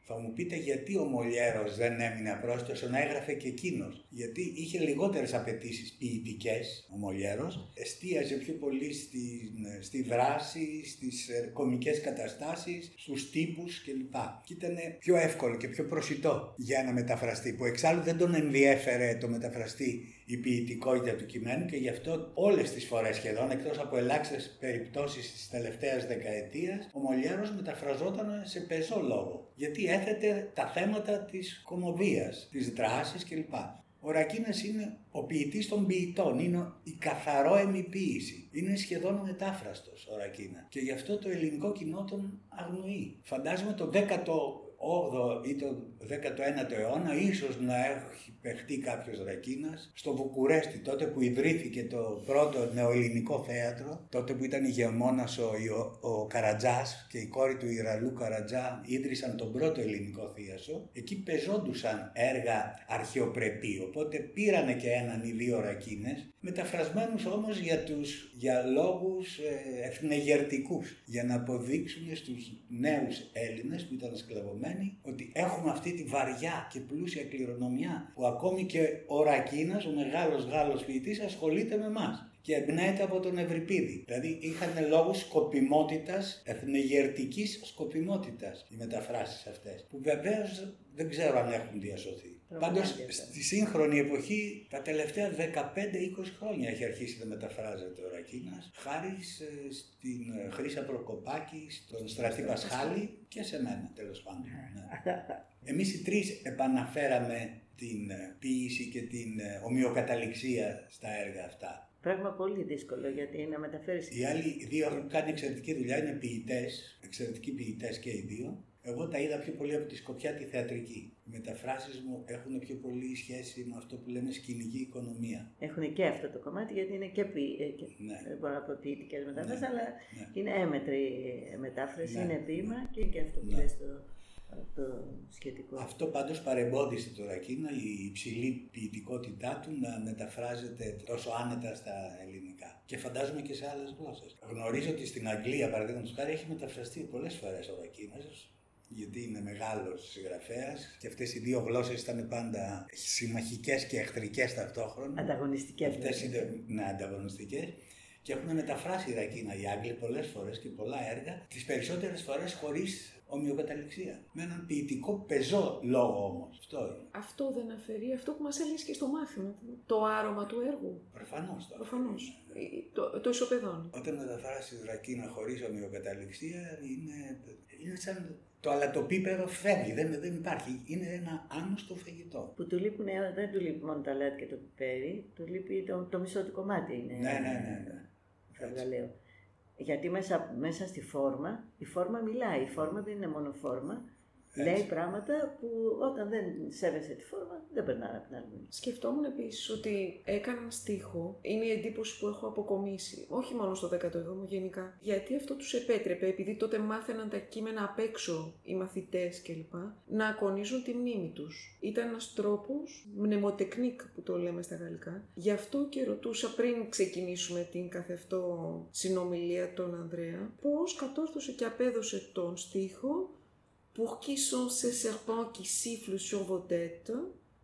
Θα μου πείτε γιατί ο Μολιέρος δεν έμεινε απρόσιτος να έγραφε και εκείνος. Γιατί είχε λιγότερες απαιτήσεις ποιητικές ο Μολιέρος, εστίαζε πιο πολύ στη, στη δράση, στις κωμικές καταστάσεις, στους τύπους κλπ. Και ήταν πιο εύκολο και πιο προσιτό για ένα μεταφραστή, που εξάλλου δεν τον ενδιέφερε το μεταφραστή η ποιητικότητα του κειμένου και γι' αυτό όλες τις φορές σχεδόν, εκτός από ελάχιστες περιπτώσεις της τελευταίας δεκαετίας, ο Μολιέρος μεταφραζόταν σε πεζό λόγο, γιατί έθετε τα θέματα της κωμωδίας, της δράσης κλπ. Ο Ρακίνας είναι ο ποιητής των ποιητών, είναι η καθαρόαιμη ποίηση. Είναι σχεδόν μετάφραστος ο Ρακίνα και γι' αυτό το ελληνικό κοινό τον αγνοεί. Φαντάζομαι το δέκατο όγδοο ή το δέκατο ένατο αιώνα ίσως να έχει παιχτεί κάποιος Ρακίνας στο Βουκουρέστι, τότε που ιδρύθηκε το πρώτο νεοελληνικό θέατρο, τότε που ήταν ηγεμόνας ο, ο, ο Καρατζάς και η κόρη του Ιραλού Καρατζά ίδρυσαν τον πρώτο ελληνικό θίασο. Εκεί πεζόντουσαν έργα αρχαιοπρεπή, οπότε πήρανε και έναν ή δύο Ρακίνες, μεταφρασμένους όμως για, τους, για λόγους ε, εθνεγερτικούς, για να αποδείξουν στους νέους Έλληνες που ήταν σκλαβωμένοι ότι έχουμε αυτή τη βαριά και πλούσια κληρονομιά που ακόμη και ο Ρακίνας, ο μεγάλος Γάλλος ποιητής, ασχολείται με εμάς και εμπνέεται από τον Ευρυπίδη. Δηλαδή είχαν λόγους σκοπιμότητας, εθνεγερτικής σκοπιμότητας οι μεταφράσεις αυτές, που βεβαίως δεν ξέρω αν έχουν διασωθεί. Πάντως στη σύγχρονη εποχή τα τελευταία δεκαπέντε είκοσι χρόνια έχει αρχίσει να μεταφράζεται ο Ρακίνας, χάρη στην Χρύσα Προκοπάκη, στον Στρατή Πασχάλη και σε μένα τέλος πάντων. Ναι. Εμείς οι τρεις επαναφέραμε την ποίηση και την ομοιοκαταληξία στα έργα αυτά. Πράγμα πολύ δύσκολο, γιατί να μεταφέρεις... Οι άλλοι δύο έχουν κάνει εξαιρετική δουλειά, είναι ποιητές, εξαιρετικοί ποιητές και οι δύο. Εγώ τα είδα πιο πολύ από τη σκοπιά τη θεατρική. Οι μεταφράσεις μου έχουν πιο πολύ σχέση με αυτό που λέμε σκηνική οικονομία. Έχουν και αυτό το κομμάτι, γιατί είναι και, ποι... και... Ναι. μπορώ να πω ποιητικές μεταφράσεις, ναι. αλλά ναι. είναι έμετρη μετάφραση, ναι. είναι ποίημα ναι. και, και αυτό που ναι. λες το... το σχετικό. Αυτό πάντως παρεμπόδισε το Ρακίνα, η υψηλή ποιητικότητά του να μεταφράζεται τόσο άνετα στα ελληνικά. Και φαντάζομαι και σε άλλες γλώσσες. Γνωρίζω ότι στην Αγγλία, παραδείγματος χάρη, έχει μεταφραστεί πολλές φορές ο Ρακίνας, γιατί είναι μεγάλος συγγραφέας και αυτές οι δύο γλώσσες ήταν πάντα συμμαχικές και εχθρικές ταυτόχρονα. Ανταγωνιστικές. Αυτές είναι ναι, ανταγωνιστικές. Και έχουν μεταφράσει Ρακίνα οι Άγγλοι πολλές φορές και πολλά έργα, τις περισσότερες φορές χωρίς ομοιοκαταληξία. Με έναν ποιητικό πεζό λόγο όμως. Αυτό είναι. Αυτό δεν αφαιρεί αυτό που μας έλεγες και στο μάθημα, το άρωμα του έργου. Προφανώς. Το Προφανώς. Το, το ισοπεδώνει. Όταν μεταφράσεις Ρακίνα χωρίς ομοιοκαταληξία είναι, είναι σαν το αλατοπίπεδο φεύγει, δεν, δεν υπάρχει. Είναι ένα άνωστο φαγητό. Που του λείπουν, δεν του λείπει μόνο το αλάτι και το πιπέρι, του λείπει το, το μισό του κομμάτι. Είναι, ναι, ναι, ναι. ναι. Φαυγαλαίο. Γιατί μέσα, μέσα στη φόρμα, η φόρμα μιλάει. Η φόρμα δεν είναι μόνο φόρμα. Έτσι. Λέει πράγματα που όταν δεν σέβεσαι τη φόρμα δεν περνάνε από την άλλη. Σκεφτόμουν επίσης ότι έκαναν στίχο, είναι η εντύπωση που έχω αποκομίσει, όχι μόνο στο δέκατο έβδομο γενικά, γιατί αυτό τους επέτρεπε, επειδή τότε μάθαιναν τα κείμενα απ' έξω οι μαθητές κλπ, να ακονίζουν τη μνήμη τους. Ήταν ένας τρόπος, μνημοτεκνίκ που το λέμε στα γαλλικά. Γι' αυτό και ρωτούσα πριν ξεκινήσουμε την καθευτό συνομιλία τον Ανδρέα, πώς κατόρθωσε και απέδωσε τον στίχο pour qui sont ces serpents qui sifflent sur vos têtes,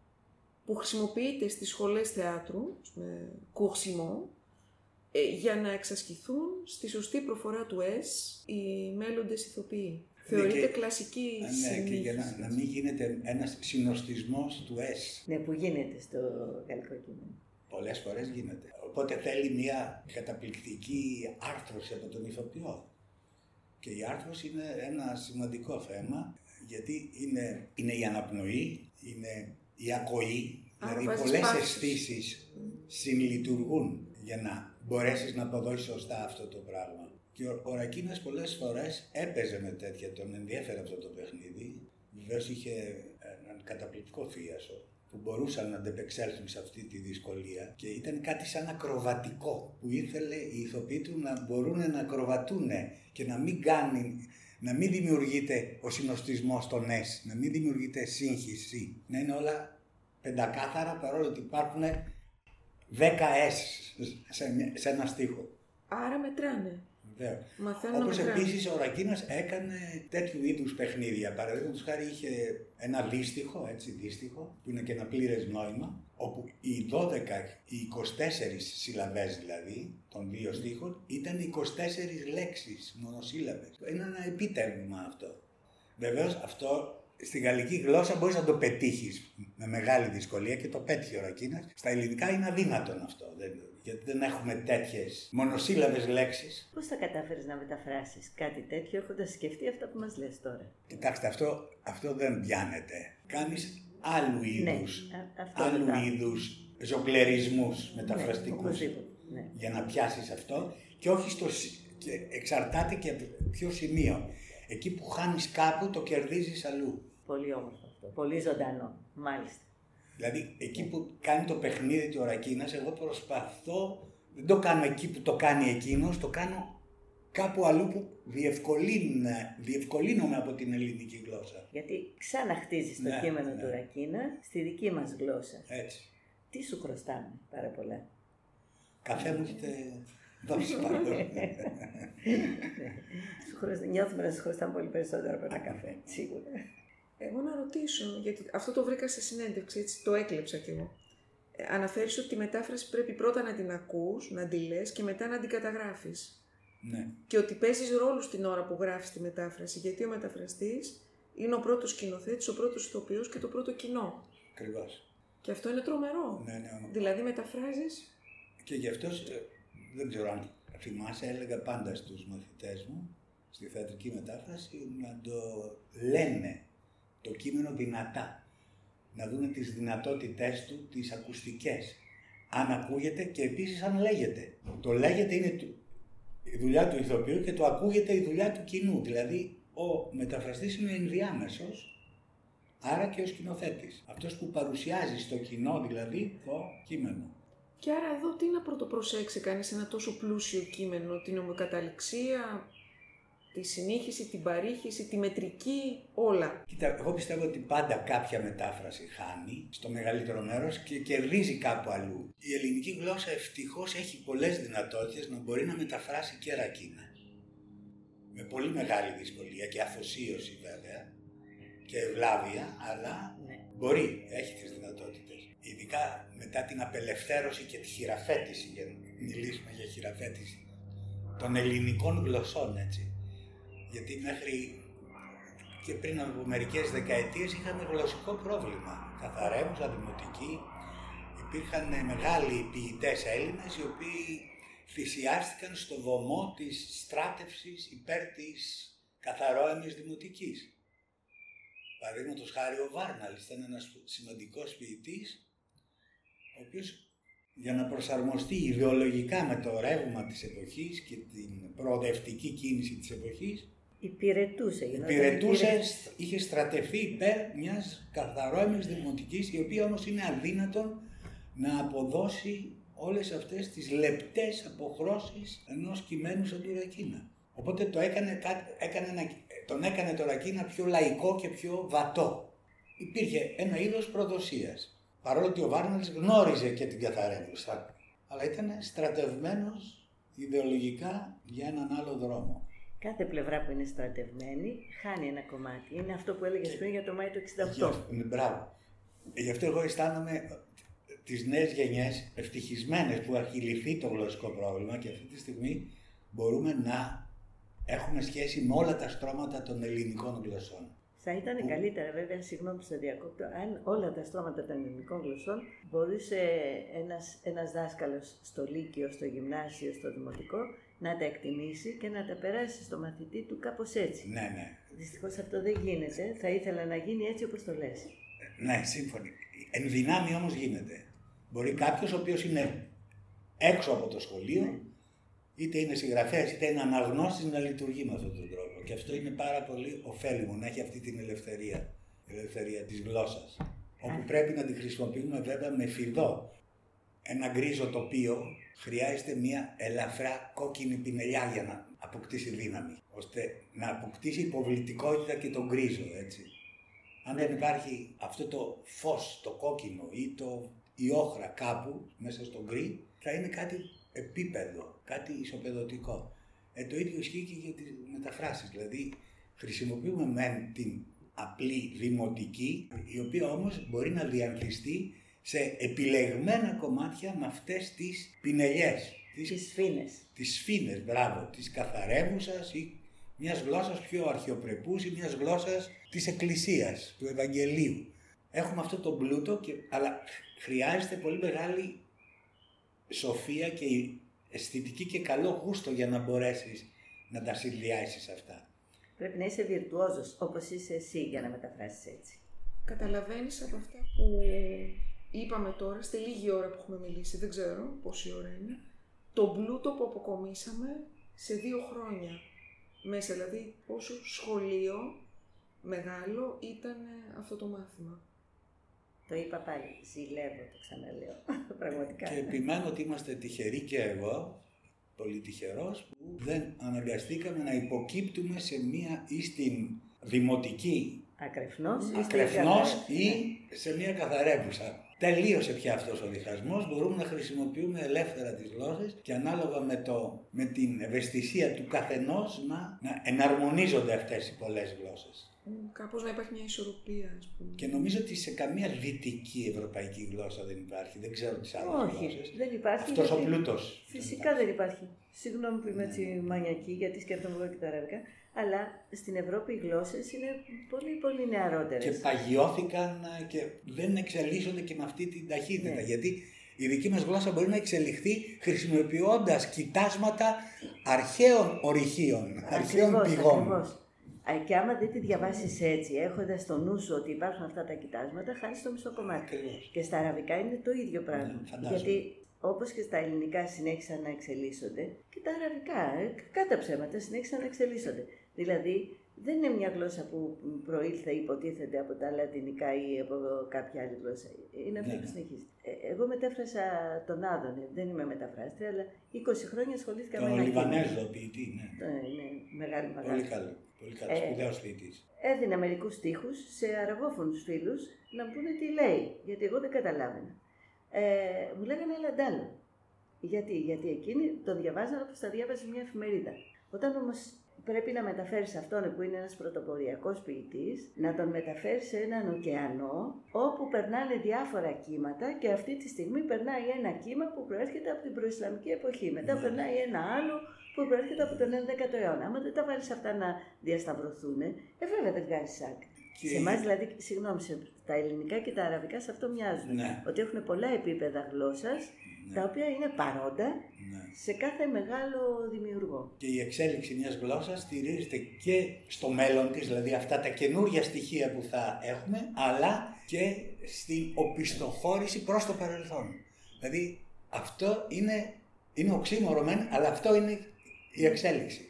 που χρησιμοποιείται στις σχολές θεάτρου, με κουρσιμό, για να εξασκηθούν στη σωστή προφορά του S οι μέλλοντες ηθοποιοί. Ναι, θεωρείται και, κλασική ναι, και για να, να μην γίνεται ένας συνοστισμός του S. Ναι, που γίνεται στο γαλλικό κείμενο. Πολλές φορές γίνεται. Οπότε θέλει μια καταπληκτική άρθρωση από τον ηθοποιό. Και η άρθρωση είναι ένα σημαντικό θέμα, γιατί είναι, είναι η αναπνοή, είναι η ακοή, δηλαδή πολλές αισθήσεις mm. συλλειτουργούν για να μπορέσεις να αποδώσεις σωστά αυτό το πράγμα. Και ο, ο Ρακίνας πολλές φορές έπαιζε με τέτοια, τον ενδιέφερε αυτό το παιχνίδι. Βεβαίως είχε έναν καταπληκτικό θίασο που μπορούσαν να αντεπεξέλθουν σε αυτή τη δυσκολία και ήταν κάτι σαν ακροβατικό που ήθελε οι ηθοποιοί του να μπορούν να ακροβατούν και να μην κάνει, να μην δημιουργείται ο συνοστισμός των S, να μην δημιουργείται σύγχυση, να είναι όλα πεντακάθαρα παρόλο ότι υπάρχουν δέκα S σε, σε ένα στίχο. Άρα μετράνε. Όπως επίσης ο Ρακίνας έκανε τέτοιου είδους παιχνίδια. Παραδείγματος χάρη είχε ένα δύστιχο, έτσι, δύστιχο, που είναι και ένα πλήρες νόημα, όπου οι δώδεκα, οι είκοσι τέσσερις συλλαβές δηλαδή, των δύο στίχων, ήταν είκοσι τέσσερις λέξεις, μονοσύλλαβες. Είναι ένα επίτευγμα αυτό. Βεβαίως αυτό στη γαλλική γλώσσα μπορείς να το πετύχεις με μεγάλη δυσκολία και το πέτυχε ο Ρακίνας. Στα ελληνικά είναι αδύνατον αυτό, δεν, γιατί δεν έχουμε τέτοιες μονοσύλλαβες λέξεις. Πώς θα κατάφερες να μεταφράσεις κάτι τέτοιο έχοντας σκεφτεί αυτά που μας λες τώρα? Κοιτάξτε, αυτό, αυτό δεν πιάνεται. Κάνεις άλλου είδους, ναι, αυτό άλλου το είδους ζογκλερισμούς μεταφραστικούς, ναι, ναι. για να πιάσεις αυτό και όχι στο, και εξαρτάται και από ποιο σημείο. Εκεί που χάνεις κάπου το κερδίζεις αλλού. Πολύ όμορφο αυτό, πολύ ζωντανό, μάλιστα. Δηλαδή εκεί που κάνει το παιχνίδι του ο Ρακίνας, εγώ προσπαθώ, δεν το κάνω εκεί που το κάνει εκείνος, το κάνω κάπου αλλού που διευκολύνομαι από την ελληνική γλώσσα. Γιατί ξαναχτίζεις το ναι, κείμενο ναι. του Ρακίνα στη δική μας γλώσσα. Έτσι. Τι σου χρωστάμε? Πάρα πολλά. Καφέ μου έχετε δώσει πάνω. Νιώθουμε να σου χρωστάμε πολύ περισσότερο από ένα καφέ, σίγουρα. Εγώ να ρωτήσω, γιατί αυτό το βρήκα σε συνέντευξη, έτσι το έκλεψα κι εγώ. Ε, αναφέρεις ότι τη μετάφραση πρέπει πρώτα να την ακούς, να τη λες και μετά να την καταγράφεις. Ναι. Και ότι παίζεις ρόλους την ώρα που γράφεις τη μετάφραση, γιατί ο μεταφραστής είναι ο πρώτος σκηνοθέτης, ο πρώτος ηθοποιός και το πρώτο κοινό. Ακριβώς. Και αυτό είναι τρομερό. Ναι, ναι, ναι. Δηλαδή μεταφράζεις. Και γι' αυτό δεν ξέρω αν θυμάσαι, έλεγα πάντα στους μαθητές μου στη θεατρική μετάφραση να το λένε το κείμενο δυνατά. Να δούνε τις δυνατότητές του, τις ακουστικές. Αν ακούγεται και επίσης αν λέγεται. Το λέγεται είναι η δουλειά του ηθοποιού και το ακούγεται η δουλειά του κοινού. Δηλαδή ο μεταφραστής είναι ενδιάμεσος, άρα και ο σκηνοθέτης. Αυτός που παρουσιάζει στο κοινό δηλαδή το κείμενο. Και άρα εδώ τι να πρωτοπροσέξει κανείς ένα τόσο πλούσιο κείμενο, την ομοκαταληξία, τη συνήχιση, την παρήχηση, τη μετρική, όλα. Κοίτα, εγώ πιστεύω ότι πάντα κάποια μετάφραση χάνει στο μεγαλύτερο μέρος και κερδίζει κάπου αλλού. Η ελληνική γλώσσα ευτυχώς έχει πολλές δυνατότητες να μπορεί να μεταφράσει και Ρακίνα. Με πολύ μεγάλη δυσκολία και αφοσίωση βέβαια και ευλάβεια, αλλά ναι. μπορεί, έχει τις δυνατότητες. Ειδικά μετά την απελευθέρωση και τη χειραφέτηση, για να μιλήσουμε για χειραφέτηση των ελληνικών γλωσσών, έτσι. Γιατί μέχρι και πριν από μερικές δεκαετίες είχαμε γλωσσικό πρόβλημα. Καθαρέμουσα, δημοτική, υπήρχαν μεγάλοι ποιητές Έλληνες οι οποίοι θυσιάστηκαν στο βωμό της στράτευσης υπέρ της καθαρόαιμης δημοτικής. Παραδείγματος χάρη ο Βάρναλης ήταν ένας σημαντικός ποιητής, ο οποίος για να προσαρμοστεί ιδεολογικά με το ρεύμα της εποχής και την προοδευτική κίνηση της εποχής, υπηρετούσε. Υπηρετούσε, είχε στρατευτεί υπέρ μιας καθαρόαιμης δημοτικής, η οποία όμως είναι αδύνατον να αποδώσει όλες αυτές τις λεπτές αποχρώσεις ενός κειμένου σαν του Ρακίνα. Οπότε το έκανε, έκανε, τον έκανε το Ρακίνα πιο λαϊκό και πιο βατό. Υπήρχε ένα είδος προδοσίας. Παρόλο ότι ο Βάρναλης γνώριζε και την καθαρέμουσα, αλλά ήταν στρατευμένος ιδεολογικά για έναν άλλο δρόμο. Κάθε πλευρά που είναι στρατευμένη χάνει ένα κομμάτι. Είναι αυτό που έλεγες πριν για το Μάη του εξήντα οκτώ. Μπράβο. Γι' αυτό εγώ αισθάνομαι τις νέες γενιές ευτυχισμένες που έχει λυθεί το γλωσσικό πρόβλημα και αυτή τη στιγμή μπορούμε να έχουμε σχέση με όλα τα στρώματα των ελληνικών γλωσσών. Θα ήταν που... καλύτερα βέβαια, συγγνώμη που σε διακόπτω, αν όλα τα στρώματα των ελληνικών γλωσσών μπορούσε ένας, ένας δάσκαλος στο Λύκειο, στο Γυμνάσιο, στο Δημοτικό να τα εκτιμήσει και να τα περάσει στο μαθητή του κάπως έτσι. Ναι, ναι. Δυστυχώς αυτό δεν γίνεται. Θα ήθελα να γίνει έτσι όπως το λες. Ναι, σύμφωνοι. Εν δυνάμει όμως γίνεται. Μπορεί κάποιος ο οποίος είναι έξω από το σχολείο, ναι, είτε είναι συγγραφέας είτε είναι αναγνώστης, να λειτουργεί με αυτόν τον τρόπο. Και αυτό είναι πάρα πολύ ωφέλιμο, να έχει αυτή την ελευθερία, ελευθερία της γλώσσας. Όπου πρέπει να την χρησιμοποιούμε βέβαια με φιδό. Ένα γκρίζο τοπίο χρειάζεται μια ελαφρά κόκκινη πινελιά για να αποκτήσει δύναμη, ώστε να αποκτήσει υποβλητικότητα και τον γκρίζο, έτσι. Αν δεν υπάρχει αυτό το φως, το κόκκινο ή το, η όχρα κάπου μέσα στο γκρι, θα είναι κάτι επίπεδο, κάτι ισοπεδωτικό. Ε, το ίδιο ισχύει και για τις μεταφράσεις. Δηλαδή, χρησιμοποιούμε μεν την απλή δημοτική, η οποία όμως μπορεί να διανθιστεί σε επιλεγμένα κομμάτια με αυτές τις πινελιές. Τις σφήνες. Τις σφήνες, μπράβο, της καθαρεύουσας ή μιας γλώσσας πιο αρχαιοπρεπούς ή μιας γλώσσας της Εκκλησίας, του Ευαγγελίου. Έχουμε αυτό το πλούτο, και, αλλά χρειάζεται πολύ μεγάλη σοφία και αισθητική και καλό γούστο για να μπορέσεις να τα συνδυάσεις αυτά. Πρέπει να είσαι βιρτουόζος, όπως είσαι εσύ, για να μεταφράσεις έτσι. Καταλαβαίνεις από αυτά που είπαμε τώρα, στη λίγη ώρα που έχουμε μιλήσει, δεν ξέρω πόση ώρα είναι, το πλούτο που αποκομίσαμε σε δύο χρόνια μέσα, δηλαδή πόσο σχολείο μεγάλο ήταν αυτό το μάθημα. Το είπα πάλι, ζηλεύω, το ξαναλέω, πραγματικά. Και επιμένω ότι είμαστε τυχεροί, και εγώ, πολύ τυχερός, που δεν αναγκαστήκαμε να υποκύπτουμε σε μία ή στην δημοτική Ακρεφνός, ακρεφνός ή σε μία καθαρεύουσα. Τελείωσε πια αυτός ο διχασμός, μπορούμε να χρησιμοποιούμε ελεύθερα τις γλώσσες και ανάλογα με, το, με την ευαισθησία του καθενός να, να εναρμονίζονται αυτές οι πολλές γλώσσες. Κάπως να υπάρχει μια ισορροπία, ας πούμε. Και νομίζω ότι σε καμία δυτική ευρωπαϊκή γλώσσα δεν υπάρχει, δεν ξέρω τις άλλες Όχι, γλώσσες. δεν υπάρχει. Αυτός γιατί... ο πλούτος. Φυσικά δεν υπάρχει. Συγγνώμη που είμαι έτσι μανιακή, γιατί σκέφτομαι εγώ και τα αραβικά. Αλλά στην Ευρώπη οι γλώσσες είναι πολύ πολύ νεαρότερες. Και παγιώθηκαν και δεν εξελίσσονται και με αυτή την ταχύτητα. Ναι. Γιατί η δική μας γλώσσα μπορεί να εξελιχθεί χρησιμοποιώντας κοιτάσματα αρχαίων ορυχείων, αρχαίων πηγών. Ακριβώς. Και άμα δεν τη διαβάσεις έτσι, έχοντας στο νου σου ότι υπάρχουν αυτά τα κοιτάσματα, χάνεις το μισό κομμάτι. Ακριβώς. Και στα αραβικά είναι το ίδιο πράγμα. Ναι, γιατί όπως και στα ελληνικά συνέχισαν να εξελίσσονται, και τα αραβικά, κατά ψέματα, συνέχισαν να εξελίσσονται. Δηλαδή, δεν είναι μια γλώσσα που προήλθε υποτίθεται από τα λατινικά ή από κάποια άλλη γλώσσα. Είναι αυτή ναι, που συνεχίζει. Ε, εγώ μετέφρασα τον Άδωνη, δεν είμαι μεταφράστρια, αλλά είκοσι χρόνια ασχολήθηκα με ένα κείμενο. Τον Λιβανέζο ποιητή, ναι. Είναι μεγάλη μαγαζί. Πολύ καλό. Πολύ καλό, ε, σπουδαίος ποιητής. Έδινα μερικούς στίχους σε αραβόφωνους φίλους να μου πούνε τι λέει, γιατί εγώ δεν καταλάβαινα. Ε, μου λέγανε Λαντάλο. Γιατί, γιατί εκείνοι τον διαβάζαν όπως τα διάβαζε μια εφημερίδα. Όταν όμως πρέπει να μεταφέρεις αυτόν που είναι ένας πρωτοποριακός ποιητής, να τον μεταφέρεις σε έναν ωκεανό όπου περνάνε διάφορα κύματα και αυτή τη στιγμή περνάει ένα κύμα που προέρχεται από την προϊσλαμική εποχή. Μετά yeah. περνάει ένα άλλο που προέρχεται από τον έντεκατο αιώνα. Άμα δεν τα βάλεις αυτά να διασταυρωθούν, ε, βέβαια δεν βγάζεις άκρη. Και... Σε εμάς δηλαδή, συγγνώμη, σε τα ελληνικά και τα αραβικά σε αυτό μοιάζουν. Ναι. Ότι έχουν πολλά επίπεδα γλώσσας, ναι. τα οποία είναι παρόντα ναι. σε κάθε μεγάλο δημιουργό. Και η εξέλιξη μιας γλώσσας στηρίζεται και στο μέλλον της, δηλαδή αυτά τα καινούργια στοιχεία που θα έχουμε, αλλά και στην οπισθοχώρηση προς το παρελθόν. Δηλαδή αυτό είναι, είναι οξύμορο μεν, αλλά αυτό είναι η εξέλιξη.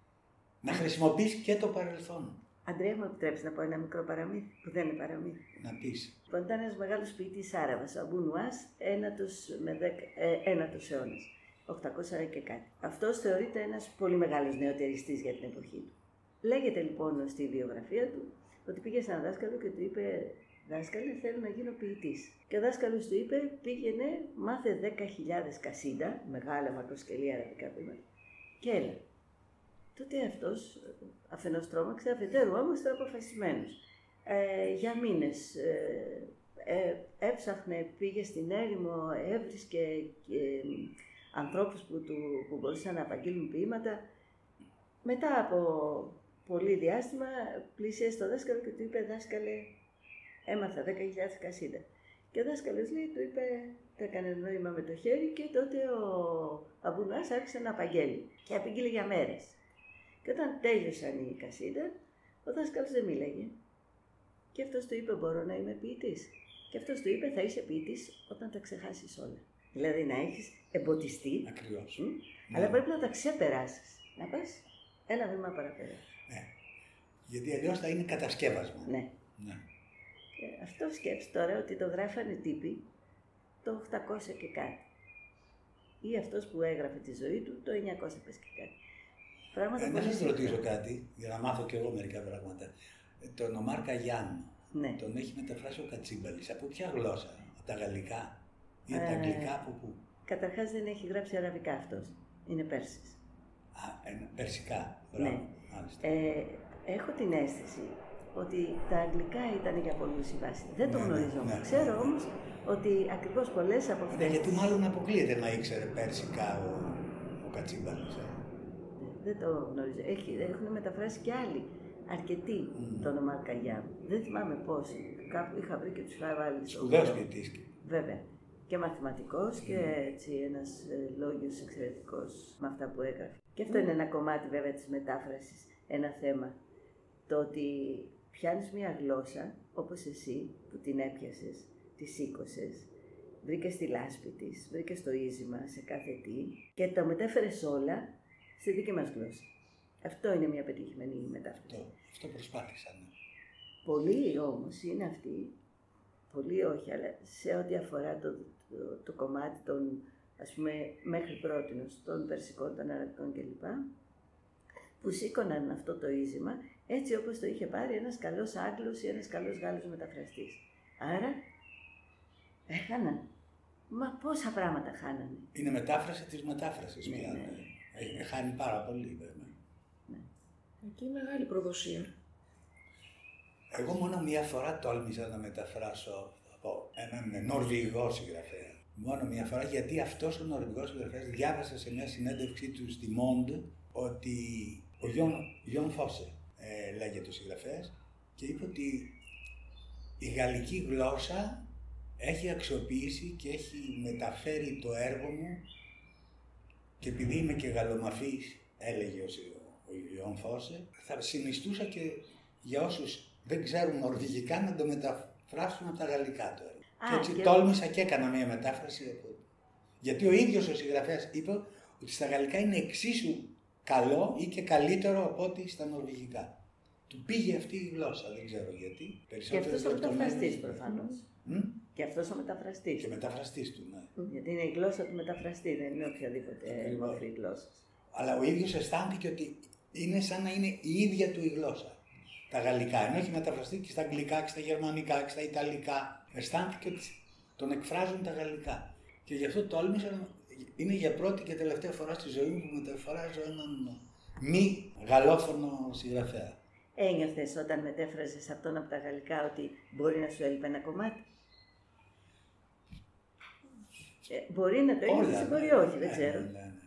Να χρησιμοποιείς και το παρελθόν. Αντρέα, μου επιτρέψει να πω ένα μικρό παραμύθι, που δεν είναι παραμύθι. Να πεις. Λοιπόν, ήταν ένας μεγάλος ποιητής Άραβας, ο Αμπού Νουάς, ένατος, με δέκα, ε, ένατος αιώνας, οκτακόσια και κάτι. Αυτός θεωρείται ένας πολύ μεγάλος νεοτεριστής για την εποχή του. Λέγεται λοιπόν στη βιογραφία του ότι πήγε σε έναν δάσκαλο και του είπε: Δάσκαλε, θέλω να γίνω ποιητής. Και ο δάσκαλος του είπε: Πήγαινε, μάθε δέκα χιλιάδες κασίντα, μεγάλα μακροσκελή αραβικά βήματα, και έλα. Τότε αυτός αφενός τρόμαξε, αφετέρου όμως ήταν αποφασισμένος. Ε, για μήνες ε, ε, έψαχνε, πήγε στην έρημο, έβρισκε ε, ανθρώπους που, του, που μπορούσαν να απαγγείλουν ποίηματα. Μετά από πολύ διάστημα πλησίασε στο δάσκαλο και του είπε: Δάσκαλε, έμαθα δέκα χιλιάδες κασίντα. Και ο δάσκαλος λέει, του είπε, το έκανε νόημα με το χέρι, και τότε ο Αμπού Νουάς άρχισε να απαγγέλει. Και απήγγειλε για μέρες. Και όταν τέλειωσαν οι κασίντα, ο δάσκαλος δεν μίλαγε. Και αυτός του είπε: Μπορώ να είμαι ποιητής. Και αυτός του είπε: Θα είσαι ποιητής όταν τα ξεχάσεις όλα. Δηλαδή να έχεις εμποτιστεί. Ακριβώς. Μ, ναι. Αλλά πρέπει να τα ξεπεράσεις. Να πας ένα βήμα παραπέρα. Ναι. Γιατί αλλιώς θα είναι κατασκεύασμα. Ναι. ναι. Και αυτό σκέψου τώρα ότι το γράφανε τύποι το οκτακόσια και κάτι. Ή αυτός που έγραφε τη ζωή του το εννιακόσια και κάτι. Ε, να σας ρωτήσω κάτι, για να μάθω κι εγώ μερικά πράγματα. Τον Ομάρ Καγιάν, ναι. τον έχει μεταφράσει ο Κατσίμπαλης. Από ποια γλώσσα, από τα γαλλικά ή από τα αγγλικά, από πού? Καταρχάς δεν έχει γράψει αραβικά αυτός, είναι Πέρσης. Α, ένα, περσικά. Ναι. Ε, έχω την αίσθηση ότι τα αγγλικά ήταν για πολλούς η βάση. Δεν το ναι, γνωρίζω. Ναι, ναι. Ξέρω όμως ότι ακριβώς πολλές από αυτές... Ναι, γιατί μάλλον αποκλείεται να ήξερε περσικά ο, ο Κατσίμπαλης. Ε. Δεν το γνωρίζω. Έχει, έχουν μεταφράσει και άλλοι. Αρκετοί mm. το όνομα Αλκαγιάμ. Δεν θυμάμαι πόσοι. Κάπου είχα βρει και τους είχα βάλει στο... Σπουδαίος ποιητής. Βέβαια. Και μαθηματικός mm. και έτσι ένας ε, λόγιος εξαιρετικός με αυτά που έγραφε. Και αυτό mm. είναι ένα κομμάτι βέβαια της μετάφρασης. Ένα θέμα. Το ότι πιάνεις μια γλώσσα, όπως εσύ που την έπιασες, τη σήκωσες, βρήκες τη λάσπη της, βρήκες το ίζημα σε κάθε τι και το μετέφερες όλα στη δική μας γλώσσα. Αυτό είναι μια πετυχημένη μετάφραση. Αυτό, αυτό προσπάθησαν. Πολλοί όμως είναι αυτοί, πολλοί όχι, αλλά σε ό,τι αφορά το, το, το κομμάτι των, ας πούμε, μέχρι πρότινος, των περσικών, των αραβικών κλπ. Που σήκωναν αυτό το ίζημα έτσι όπως το είχε πάρει ένας καλός Άγγλος ή ένας καλός Γάλλος μεταφραστής. Άρα, έχαναν. Μα πόσα πράγματα χάνανε. Είναι μετάφραση της μετάφρασης ναι, πια. Ναι. Έχει χάνει πάρα πολύ βέβαια. Ναι. Εκεί μεγάλη προδοσία. Εγώ μόνο μία φορά τόλμησα να μεταφράσω από έναν Νορβηγό συγγραφέα. Μόνο μία φορά, γιατί αυτός ο Νορβηγός συγγραφέας διάβασα σε μια συνέντευξή του στη Monde ότι ο Γιον Φώσε ε, λέγεται ο συγγραφέας και είπε ότι η γαλλική γλώσσα έχει αξιοποιήσει και έχει μεταφέρει το έργο μου και επειδή είμαι και γαλλομαθής, έλεγε ο Γιον Φώσε, θα συνιστούσα και για όσους δεν ξέρουν νορβηγικά να το μεταφράσουν από τα γαλλικά το έργο. Α, και έτσι και τόλμησα και έκανα μια μετάφραση. Γιατί ο ίδιος ο συγγραφέας είπε ότι στα γαλλικά είναι εξίσου καλό ή και καλύτερο από ό,τι στα νορβηγικά. Του πήγε αυτή η γλώσσα, δεν ξέρω γιατί. Και αυτός ο μεταφραστής προφανώς. Mm? Και αυτός ο μεταφραστής. Και μεταφραστής του, ναι. Γιατί είναι η γλώσσα του μεταφραστή, δεν είναι οποιαδήποτε μορφή γλώσσα. Αλλά ο ίδιος αισθάνθηκε ότι είναι σαν να είναι η ίδια του η γλώσσα. Τα γαλλικά, ενώ έχει μεταφραστεί και στα αγγλικά και στα γερμανικά και στα ιταλικά. Αισθάνθηκε ότι τον εκφράζουν τα γαλλικά. Και γι' αυτό τόλμησα. Είναι για πρώτη και τελευταία φορά στη ζωή μου που μεταφράζω έναν μη γαλλόφωνο συγγραφέα. Ένιωθες όταν μετέφραζες αυτόν από τα γαλλικά ότι μπορεί να σου έλειπε ένα κομμάτι? Ε, μπορεί να το ένιωθες ή μπορεί όχι, δεν ξέρω. Ναι, ναι, ναι.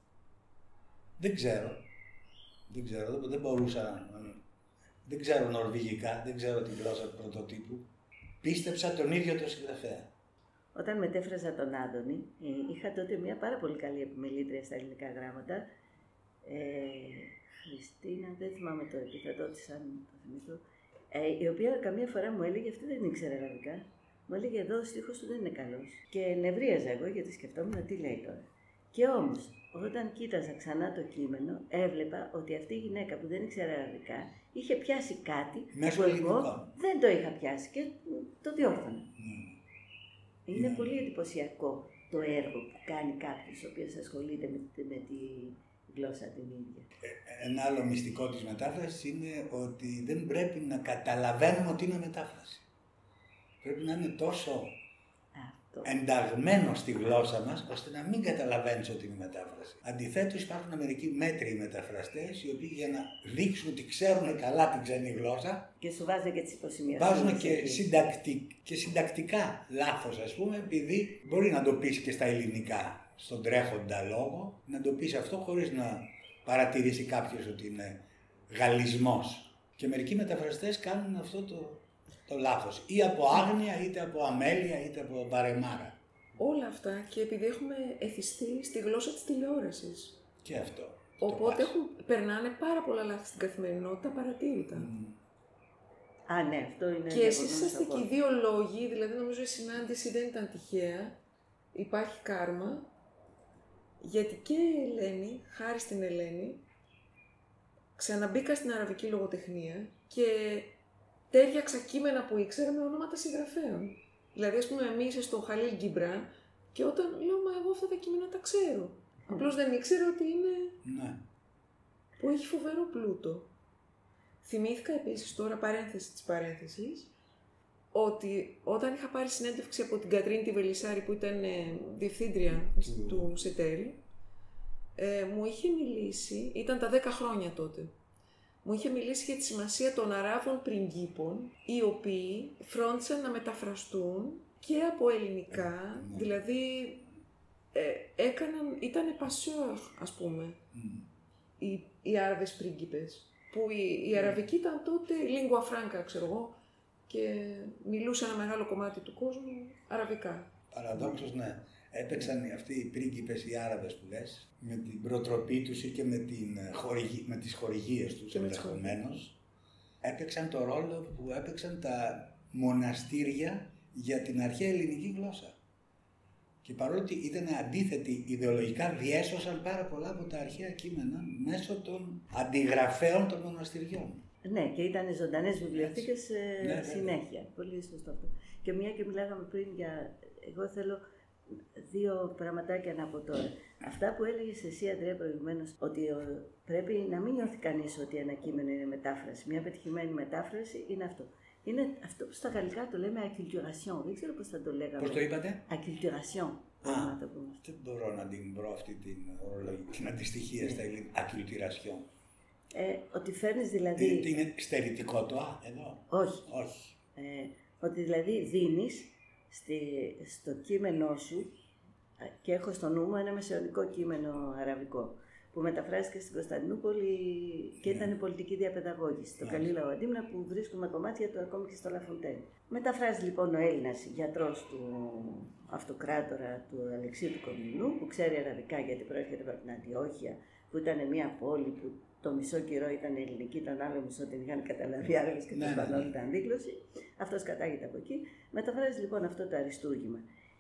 Δεν ξέρω. Δεν ξέρω, δεν μπορούσα. Δεν ξέρω νορβηγικά, δεν ξέρω τη γλώσσα του πρωτοτύπου. Πίστεψα τον ίδιο τον συγγραφέα. Όταν μετέφραζα τον Άδωνη, είχα τότε μια πάρα πολύ καλή επιμελήτρια στα ελληνικά γράμματα. Ε, Χριστίνα, δεν θυμάμαι το επίθετό της, αν το θυμηθώ. Ε, η οποία καμία φορά μου έλεγε, αυτή δεν ήξερε αραβικά. Μου έλεγε εδώ ο στίχος του δεν είναι καλός. Και νευρίαζα εγώ γιατί σκεφτόμουν τι λέει τώρα. Και όμως, όταν κοίταζα ξανά το κείμενο, έβλεπα ότι αυτή η γυναίκα που δεν ήξερε αραβικά είχε πιάσει κάτι μέσω που εγώ δεν το είχα πιάσει και το διόρθωνα. Mm. Είναι mm. πολύ εντυπωσιακό το έργο που κάνει κάποιος ο οποίος ασχολείται με, με τη γλώσσα την ίδια. Ε, ένα άλλο μυστικό της μετάφρασης είναι ότι δεν πρέπει να καταλαβαίνουμε ότι είναι μετάφραση. Πρέπει να είναι τόσο ενταγμένο στη γλώσσα μας, ώστε να μην καταλαβαίνεις ότι είναι μετάφραση. Αντιθέτως, υπάρχουν μερικοί μέτριοι μεταφραστές, οι οποίοι για να δείξουν ότι ξέρουν καλά την ξένη γλώσσα. Και σου βάζουν και τις υποσημειώσεις. Βάζουν και, συντακτικ, και συντακτικά λάθος, ας πούμε, επειδή μπορεί να το πεις και στα ελληνικά, στον τρέχοντα λόγο, να το πεις αυτό χωρίς να παρατηρήσει κάποιος ότι είναι γαλλισμός. Και μερικοί μεταφραστές κάνουν αυτό το. Το λάθος, ή από άγνοια, είτε από αμέλεια, είτε από βαρεμάρα. Όλα αυτά και επειδή έχουμε εθιστεί στη γλώσσα της τηλεόρασης. Και αυτό. Οπότε έχουν, περνάνε πάρα πολλά λάθη στην καθημερινότητα παρατήρητα. Mm. Α, ναι, αυτό είναι. Και εσείς είσαστε και οι δύο λόγοι, δηλαδή νομίζω η συνάντηση δεν ήταν τυχαία. Υπάρχει κάρμα, γιατί και η Ελένη, χάρη στην Ελένη, ξαναμπήκα στην αραβική λογοτεχνία και τέριαξα κείμενα που ήξερα με ονόματα συγγραφέων. Δηλαδή, ας πούμε, εμείς στο Χαλίλ Γκιμπράν και όταν λέω, μα εγώ αυτά τα κείμενα τα ξέρω. Mm. Απλώς δεν ήξερα ότι είναι. Ναι. Που έχει φοβερό πλούτο. Θυμήθηκα επίσης τώρα, παρένθεση της παρένθεσης, ότι όταν είχα πάρει συνέντευξη από την Κατρίνη τη Βελισσάρη, που ήταν ε, διευθύντρια mm. του Σετέρι, ε, μου είχε μιλήσει, ήταν τα δέκα χρόνια τότε, μου είχε μιλήσει για τη σημασία των Αράβων πριγκίπων, οι οποίοι φρόντισαν να μεταφραστούν και από ελληνικά, mm. δηλαδή ε, έκαναν, ήταν πασeur, ας πούμε, mm. οι, οι Άραβες πρίγκιπες, που η, η αραβική ήταν τότε lingua franca, ξέρω εγώ, και μιλούσε ένα μεγάλο κομμάτι του κόσμου αραβικά. Παραδόξως, ναι. Έπαιξαν αυτοί οι πρίγκιπες, οι Άραβες που λες, με την προτροπή τους ή και με, την χορηγή, με τις χορηγίες τους ενδεχομένως, έπαιξαν το ρόλο που έπαιξαν τα μοναστήρια για την αρχαία ελληνική γλώσσα. Και παρότι ήταν αντίθετοι ιδεολογικά, διέσωσαν πάρα πολλά από τα αρχαία κείμενα μέσω των αντιγραφέων των μοναστηριών. Ναι, και ήταν ζωντανές βιβλιοθήκες ε, ναι, συνέχεια. Ναι. Πολύ σωστό αυτό. Και μια και μιλάγαμε πριν για... Εγώ θέλω δύο πραγματάκια να πω τώρα. Αυτά που έλεγες εσύ, Αντρέα, προηγουμένως, ότι ο, πρέπει να μην νιώθει κανείς ότι ένα κείμενο είναι μετάφραση. Μια πετυχημένη μετάφραση είναι αυτό. Είναι αυτό που στα γαλλικά το λέμε acculturation. Δεν ξέρω πώς θα το λέγαμε. Πώς το είπατε? Acculturation. Α, δεν μπορώ να την βρω αυτή την, την αντιστοιχία στα ελληνικά. Acculturation. Ε, ότι φέρνεις δηλαδή... Τι είναι στερητικό το α, εδώ? Όχι. Όχι. Ε, ότι δηλαδή δίνεις στη, στο κείμενό σου, και έχω στο νου μου ένα μεσαιωνικό κείμενο αραβικό, που μεταφράστηκε στην Κωνσταντινούπολη και yeah. ήταν πολιτική διαπαιδαγώγηση. Yeah. Το Καλή Λαουαντίμνα, που βρίσκουμε κομμάτια του ακόμη και στο Λαφοντέν. Μεταφράζει λοιπόν ο Έλληνας γιατρός του αυτοκράτορα του Αλεξίου του Κομνηνού, που ξέρει αραβικά γιατί προέρχεται από την Αντιόχεια, που ήταν μια πόλη που το μισό καιρό ήταν ελληνική, τον άλλο μισό την είχαν καταλάβει Άραβες και το Ισπανόλ ήταν αντίκλωση. Αυτός κατάγεται από εκεί. Μεταφράζει λοιπόν αυτό το αριστούργημα.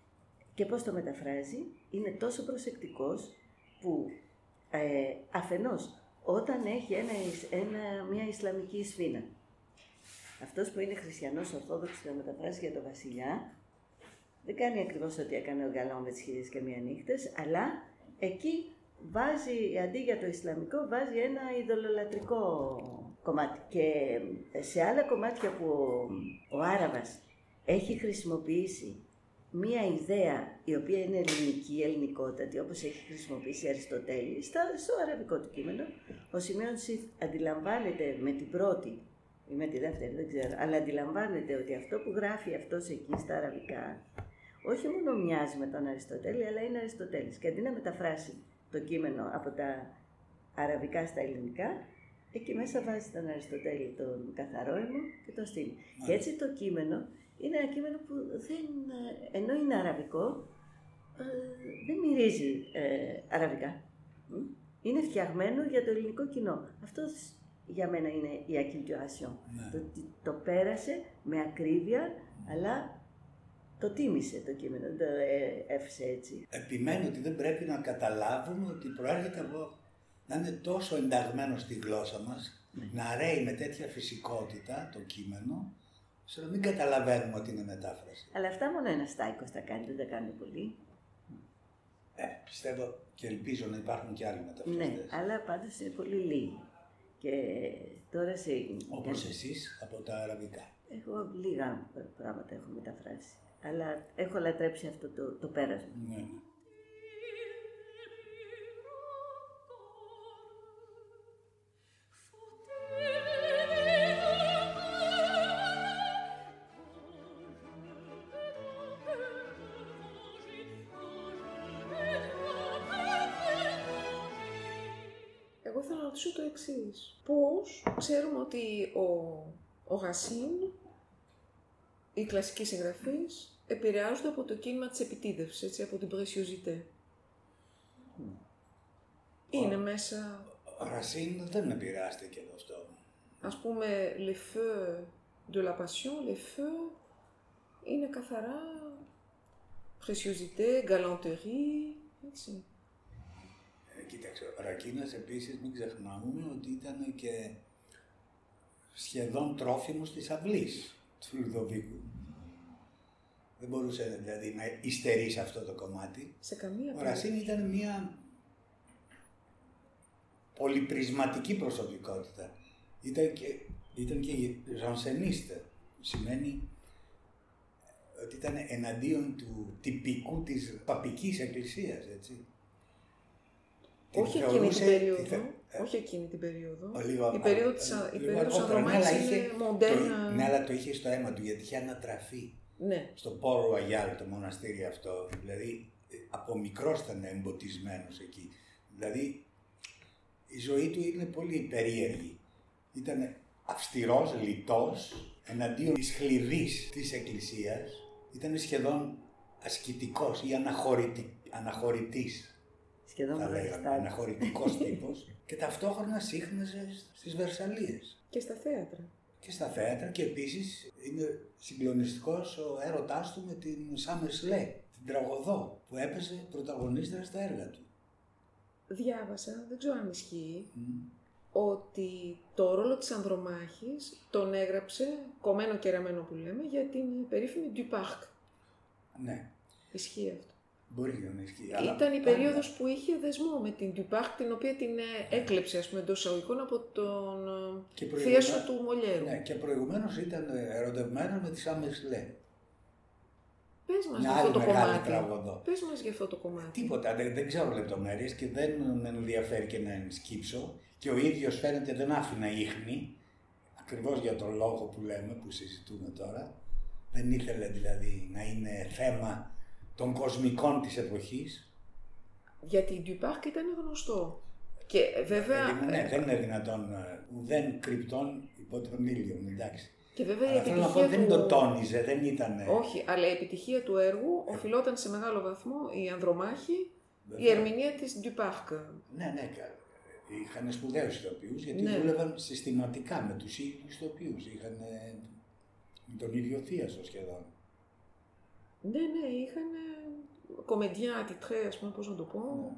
Και πώς το μεταφράζει? Είναι τόσο προσεκτικός που ε, αφενός όταν έχει ένα, ένα, μια Ισλαμική σφήνα, αυτός που είναι χριστιανός Ορθόδοξος να μεταφράσει για τον βασιλιά, δεν κάνει ακριβώς ό,τι έκανε ο Γκαλόν με τις χίλιες και μία νύχτες, αλλά εκεί βάζει, αντί για το Ισλαμικό, βάζει ένα ειδωλολατρικό κομμάτι. Και σε άλλα κομμάτια που ο, ο Άραβας έχει χρησιμοποιήσει μία ιδέα η οποία είναι ελληνική, ελληνικότατη, όπως έχει χρησιμοποιήσει Αριστοτέλη, στο αραβικό του κείμενο, ο Σιμέων Σιθ αντιλαμβάνεται με την πρώτη ή με τη δεύτερη, δεν ξέρω, αλλά αντιλαμβάνεται ότι αυτό που γράφει αυτός εκεί στα αραβικά, όχι μόνο μοιάζει με τον Αριστοτέλη, αλλά είναι Αριστοτέλης. Και αντί να μεταφράσει το κείμενο από τα αραβικά στα ελληνικά, εκεί μέσα βάζει τον Αριστοτέλη τον καθαρό αιμο και τον στήλη. Mm. Και έτσι το κείμενο είναι ένα κείμενο που δεν, ενώ είναι αραβικό, δεν μυρίζει ε, αραβικά. Είναι φτιαγμένο για το ελληνικό κοινό. Αυτό για μένα είναι η acculturation. Mm. Το ότι το πέρασε με ακρίβεια, αλλά το τίμησε το κείμενο, το έφυσε έτσι. Επιμένω ότι δεν πρέπει να καταλάβουμε ότι προέρχεται από να είναι τόσο ενταγμένο στη γλώσσα μας, mm. να ρέει με τέτοια φυσικότητα το κείμενο, ώστε να μην καταλαβαίνουμε ότι είναι μετάφραση. Αλλά αυτά μόνο ένα Στάικος τα κάνει, δεν τα κάνουν πολύ. Ε, πιστεύω και ελπίζω να υπάρχουν και άλλοι μεταφραστές. Ναι, αλλά πάντως είναι πολύ λίγοι. Και τώρα σε... Όπως εσείς από τα αραβικά. Εγώ λίγα πράγματα έχω μεταφράσει. Αλλά έχω λατρέψει αυτό το, το πέρασμα. Ναι. Εγώ θέλω να ρωτήσω το εξής. Πώς ξέρουμε ότι ο, ο Racine, οι κλασικοί συγγραφείς, επηρεάζονται από το κίνημα της επιτίδευσης, έτσι, από την préciosité. Mm. Είναι ο, μέσα... Ο Racine δεν επηρεάστηκε από αυτό. Ας πούμε, les feux de la passion, les feux είναι καθαρά préciosité, galanterie, έτσι. Ε, κοίταξε, ο Ρακίνας επίσης μην ξεχνάμε ότι ήταν και σχεδόν τρόφιμος της αυλής του Λουδοβίκου. Δεν μπορούσε δηλαδή να υστερεί σε αυτό το κομμάτι. Σε καμία Ο Ρασίν ήταν μια πολυπρισματική προσωπικότητα. Ήταν και, ήταν και ζανσενίστε, που σημαίνει ότι ήταν εναντίον του τυπικού της παπικής εκκλησίας, έτσι. Όχι Την εκείνη την θεωρούσε- περίοδο. τη θε- ε, Όχι εκείνη την περίοδο. Λίγο, Η περίοδο της, α- η λίγο περίοδος αργότερα, ναι, Ανδρομάχης αλλά είναι είχε- μοντέρνα. το- Ναι, αλλά το είχε στο αίμα του γιατί είχε ανατραφεί. Ναι. Στο Πόρο Αγιάλ, το μοναστήρι αυτό. Δηλαδή, ε, από μικρός ήταν εμποτισμένος εκεί. Δηλαδή, η ζωή του είναι πολύ περίεργη. Ήταν αυστηρός, λιτός, εναντίον της χλειδής της Εκκλησίας. Ήταν σχεδόν ασκητικός ή αναχωρητι... αναχωρητής. Σχεδόν Θα λέγαμε, προτεστάντη. αναχωρητικός τύπος. Και ταυτόχρονα σύχναζε στις Βερσαλίες. Και στα θέατρα. Και στα θέατρα και επίσης είναι συγκλονιστικός ο έρωτάς του με την Summer Slay, την τραγωδό που έπαιζε πρωταγωνίστρια στα έργα του. Διάβασα, δεν ξέρω αν ισχύει, Μμ. ότι το ρόλο της Ανδρομάχης τον έγραψε, κομμένο και ραμμένο που λέμε, για την περίφημη Du Parc. Ναι, Ισχύει αυτό. μπορεί και να ισχύει. αλλά Ήταν η πάντα- περίοδος που είχε δεσμό με την Du Parc, την οποία την ε, έκλεψε, ας πούμε, εντός εισαγωγικών από τον Και ε, προηγουμέ- θείασο του Μολιέρου. Ναι, και προηγουμένως ήταν ερωτευμένος με τη Summer Slay. Πες μας Μια για αυτό άλλη το μεγάλη κομμάτι. τραγωδό. Πες μας για αυτό το κομμάτι. Τίποτα, δεν, δεν ξέρω λεπτομέρειες και δεν με ενδιαφέρει και να σκύψω. Και ο ίδιος φαίνεται δεν άφηνα ίχνη, ακριβώς για τον λόγο που λέμε, που συζητούμε τώρα. Δεν ήθελε δηλαδή να είναι θέμα των κοσμικών της εποχής. Γιατί η Du Parc ήταν γνωστό. Και ε, βέβαια, Δηλαδή, ναι, δεν είναι δυνατόν ε, ουδέν κρυπτόν υπό τον ήλιο, εντάξει. και βέβαια η Αλλά θέλω να πω, επιτυχία δεν του... το τόνιζε, δεν ήταν... Όχι, αλλά η επιτυχία του έργου οφειλόταν σε μεγάλο βαθμό η Ανδρομάχη, η Βέβαια. ερμηνεία της Du Parc. Ναι, ναι, κα- είχαν σπουδαίους ηθοποιούς γιατί Ναι. δούλευαν συστηματικά με τους ίδιους ηθοποιούς. Είχαν ε, με τον ίδιο θείασο σχεδόν. Ναι, ναι, είχαν κομεντιά, ατιτρέ, ας πούμε, πώς να το πω. Ναι.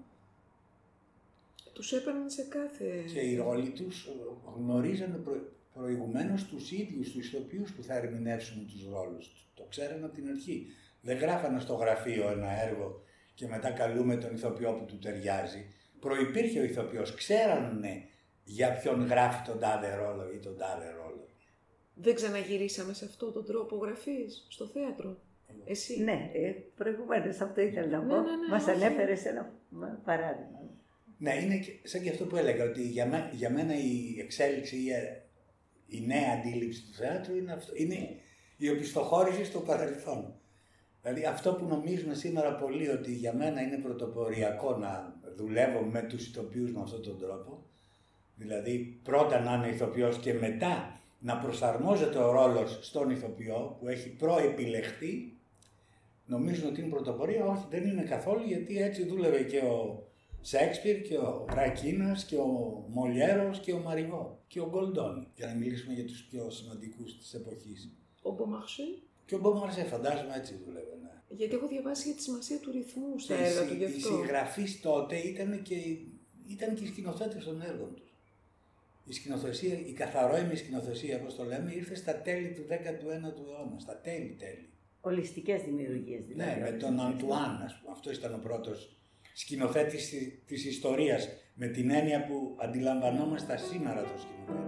Τους έπαιρναν σε κάθε... Και οι ρόλοι τους γνωρίζανε προ... προηγουμένως τους ίδιους τους ηθοποιούς που θα ερμηνεύσουν τους ρόλους τους. Το ξέρανε από την αρχή. Δεν γράφανε στο γραφείο ένα έργο και μετά καλούμε τον ηθοποιό που του ταιριάζει. Προϋπήρχε ο ηθοποιός, ξέρανε για ποιον γράφει τον τάδε ρόλο ή τον τάδε ρόλο. Δεν ξαναγυρίσαμε σε αυτόν τον τρόπο γραφής, στο θέατρο. Εσύ. Ναι, ε, προηγουμένως αυτό ήθελα να Ναι, πω. ναι, ναι, Μας όχι. ανέφερες ένα μ, παράδειγμα. Ναι, είναι και- σαν και αυτό που έλεγα, ότι για, μέ- για μένα η εξέλιξη, η, ε, η νέα αντίληψη του θεάτρου είναι, αυτό, είναι η οπισθοχώρηση στο παρελθόν. Δηλαδή αυτό που νομίζουν σήμερα πολλοί ότι για μένα είναι πρωτοποριακό να δουλεύω με τους ηθοποιούς με αυτόν τον τρόπο, δηλαδή πρώτα να είναι ηθοποιός και μετά να προσαρμόζεται ο ρόλος στον ηθοποιό που έχει προεπιλεχθεί, νομίζουν ότι είναι πρωτοπορία. Όχι, δεν είναι καθόλου, γιατί έτσι δούλευε και ο Σέξπιρ και ο Ρακίνας και ο Μολιέρος και ο Μαριβό και ο Γκολντόνι, για να μιλήσουμε για τους πιο σημαντικούς της εποχής. Ο Μπομαρσέ. Και ο Μπομαρσέ, φαντάζομαι έτσι δούλευε, ναι. Γιατί έχω διαβάσει για τη σημασία του ρυθμού στα Και οι έργα συ- του γι' οι αυτό. συγγραφείς τότε ήταν και, ήταν και οι σκηνοθέτες των έργων τους. Η σκηνοθεσία, η καθαρόιμη σκηνοθεσία, όπως το λέμε, ήρθε στα τέλη του δέκατου ένατου αιώνα, στα τέλη τέλη. Ολιστικές δημιουργίες δηλαδή. Ναι, με όλες τον αυτές. Αντουάν, ας πούμε. Αυτό ήταν ο πρώτος σκηνοθέτης της- της ιστορίας, με την έννοια που αντιλαμβανόμαστε σήμερα το σκηνοθέτη.